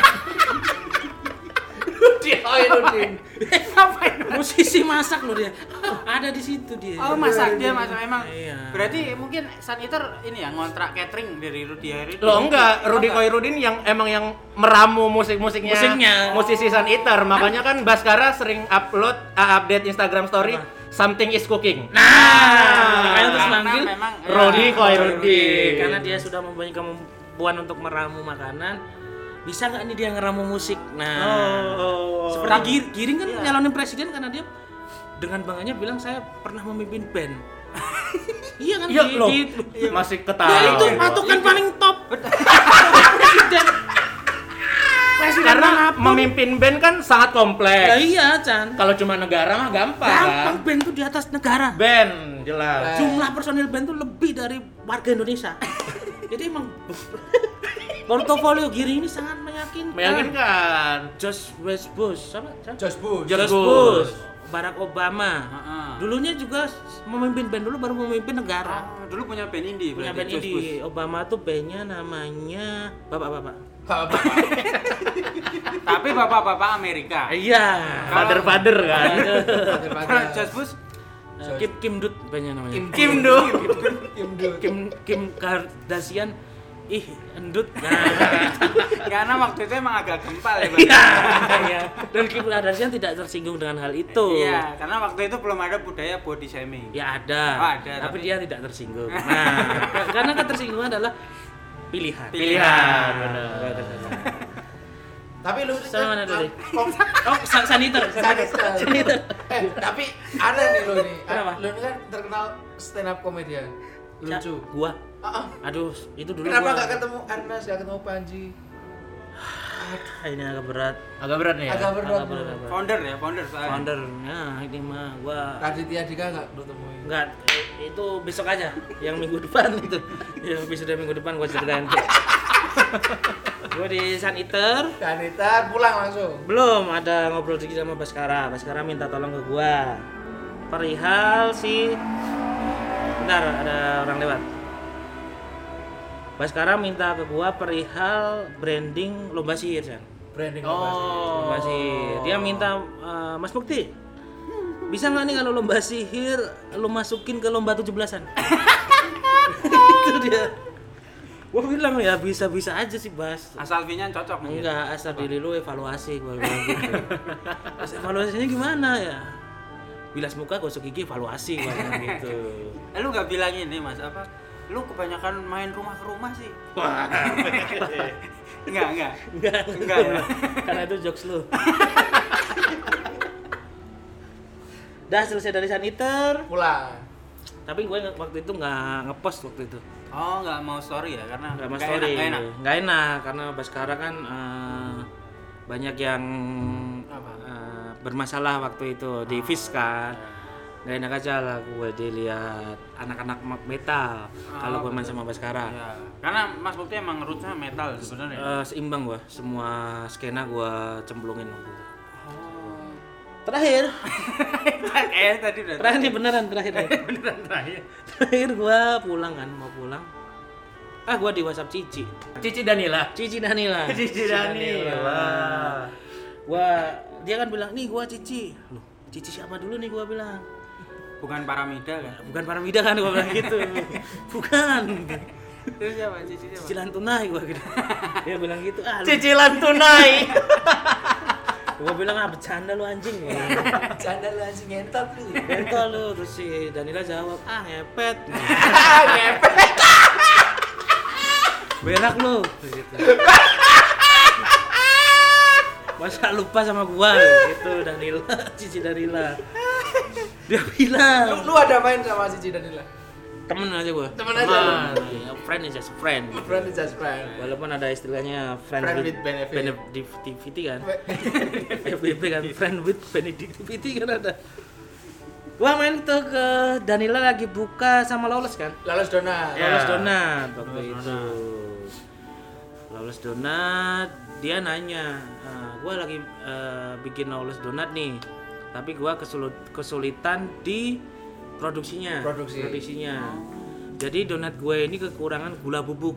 Speaker 4: Khairuddin.
Speaker 1: Musisi masak loh dia. Ada di situ dia.
Speaker 3: Oh, masak emang.
Speaker 1: Iya.
Speaker 3: Berarti mungkin Saniter ini ya ngontrak catering dari Rudi Khairuddin.
Speaker 2: Loh enggak, Rudi Khairuddin yang meramu musiknya musisi Sun Eater. Makanya kan Baskara sering update Instagram story something is cooking.
Speaker 1: Makanya terus manggil
Speaker 3: memang
Speaker 2: Rudi Khairuddin.
Speaker 1: karena dia sudah mempunyai kemampuan untuk meramu makanan. Bisa nggak nih dia ngeramu musik? Nah, seperti Giring kan nyalonin presiden karena dia dengan bangganya bilang saya pernah memimpin band. Iya kan?
Speaker 2: Iya loh. Masih ketawa.
Speaker 1: Ya itu patokan paling top. Presiden.
Speaker 2: Karena memimpin band kan sangat kompleks.
Speaker 1: Ya iya, Chan.
Speaker 2: Kalau cuma negara mah gampang.
Speaker 1: Gampang band tuh di atas negara.
Speaker 2: Band jelas.
Speaker 1: Jumlah personil band tuh lebih dari warga Indonesia. Jadi emang Portofolio Giri ini sangat
Speaker 2: Meyakinkan.
Speaker 1: George Bush, sama?
Speaker 4: George Bush.
Speaker 1: George Bush, Barack Obama. Dulunya juga memimpin band dulu, baru memimpin negara.
Speaker 3: Dulu punya band indie.
Speaker 1: Punya band indie. Obama tuh bandnya namanya Bapak-Bapak.
Speaker 3: Tapi bapak-bapak Amerika.
Speaker 1: Iya.
Speaker 2: Father kan.
Speaker 3: Kalau George Bush
Speaker 1: Kim Dut bandnya namanya. Kim Kardashian. Ih, endut.
Speaker 3: Karena waktu itu emang agak gempal ya, Bang.
Speaker 1: Iya. Dan Kim Kardashian tidak tersinggung dengan hal itu.
Speaker 3: Iya, karena waktu itu belum ada budaya body shaming.
Speaker 1: Ya ada.
Speaker 3: Oh, ada,
Speaker 1: tapi dia tidak tersinggung. Nah, karena ketersinggungan adalah pilihan.
Speaker 2: Benar.
Speaker 4: Tapi lu
Speaker 1: sama mana tadi? Oh, saniter.
Speaker 4: Tapi ada nih lu nih.
Speaker 1: Kenapa?
Speaker 4: Lu kan terkenal stand up comedian. Lucu.
Speaker 1: Gua. Aduh, itu dulu
Speaker 4: kenapa
Speaker 1: gua.
Speaker 4: enggak ketemu Ernest, enggak ketemu Panji?
Speaker 1: Ini agak berat.
Speaker 2: Agak berat nih ya.
Speaker 4: Agak berat.
Speaker 3: Founder soalnya.
Speaker 1: Founder. Nah, ini mah gua
Speaker 4: Raditya Dika enggak lu temuin?
Speaker 1: enggak, itu besok aja. Yang minggu depan itu. Ya, episode minggu depan gua ceritain. Gua di Saniter.
Speaker 4: Saniter pulang langsung.
Speaker 1: Belum, ada ngobrol dikit sama Baskara. Baskara minta tolong ke gua. Perihal si bentar, ada orang lewat. Baskara minta ke gua perihal branding lomba sihir, San.
Speaker 4: Branding
Speaker 1: Lomba sihir. Dia minta Mas Mukti. Bisa nggak nih kalau lomba sihir lu masukin ke lomba 17-an? Itu dia. Gua bilang ya bisa-bisa aja sih, Bas.
Speaker 3: Asal V-nya cocok mungkin.
Speaker 1: Enggak, asal diri lu evaluasi gua bilang gitu. Terus evaluasinya gimana ya? Bilas muka, gosok gigi, evaluasi gua bilang gitu.
Speaker 3: Lu enggak bilang ini, Mas, apa? Lu kebanyakan main rumah ke rumah sih.
Speaker 1: Wah.
Speaker 3: Enggak.
Speaker 1: Ya. Karena itu jokes lu. Dah selesai dari Saniter,
Speaker 4: pulang.
Speaker 1: tapi gue waktu itu nggak ngepost waktu itu.
Speaker 3: Oh, nggak mau story ya, karena
Speaker 1: Nggak mau story. Nggak enak karena Baskara kan banyak yang bermasalah waktu itu di FIS kan. Nggak enak aja lah gue dilihat anak-anak metal kalau gue main sama Baskara.
Speaker 3: Ya. Karena Mas Bukti emang rootsnya metal sebenarnya.
Speaker 1: Seimbang gue, semua skena gue cemplungin waktu itu. Terakhir
Speaker 3: Tadi udah.
Speaker 1: Terakhir nih beneran terakhir. Terakhir gue pulang kan, mau pulang. Gue di WhatsApp Cici Danila. Dia kan bilang, "Nih gua Cici." Loh, Cici siapa dulu nih gua bilang.
Speaker 3: Bukan Paramida kan?
Speaker 1: Bukan Paramida kan gua bilang gitu. Bukan.
Speaker 3: Terus siapa? Cici siapa?
Speaker 1: Cicilan tunai gua gitu. Dia bilang gitu,
Speaker 2: Cicilan tunai.
Speaker 1: Gua bilang, bercanda lu anjing.
Speaker 4: Bercanda lu anjing, ngentot lu.
Speaker 1: Ngentot lu. Terus si Danila jawab, ngepet.
Speaker 4: Ngepet.
Speaker 1: Berak lu gitu. Masa lupa sama gua gitu, Danila, Cici Danila. Dia bilang,
Speaker 4: Lu ada main sama Cici Danila?
Speaker 1: temen aja gua.
Speaker 4: Temen aja.
Speaker 1: Friend is just friend.
Speaker 4: Friend is just friend.
Speaker 1: Walaupun ada istilahnya friend with benefit kan. FBB kan, friend with benefit kan ada. Gua main tuh ke Danila lagi buka sama Lawless kan.
Speaker 4: Lawless Donat.
Speaker 1: Lawless Donat waktu itu. Lawless Donat, dia nanya, gua lagi bikin Lawless Donat nih. Tapi gua kesulitan di produksinya. Jadi donat gue ini kekurangan gula bubuk.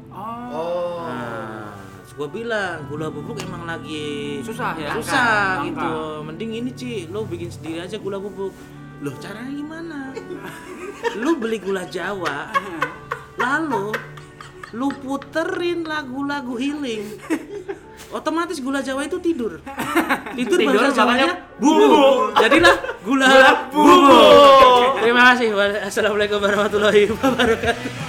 Speaker 1: Nah, gue bilang gula bubuk emang lagi
Speaker 3: susah ya.
Speaker 1: Susah gitu. Mending ini Ci, lo bikin sendiri aja gula bubuk. Loh, caranya gimana? Lu beli gula Jawa, lalu lu puterin lagu-lagu healing. Otomatis gula Jawa itu tidur bahasa Jawanya bubuk. Jadilah gula bubuk. Terima kasih. Assalamualaikum warahmatullahi wabarakatuh.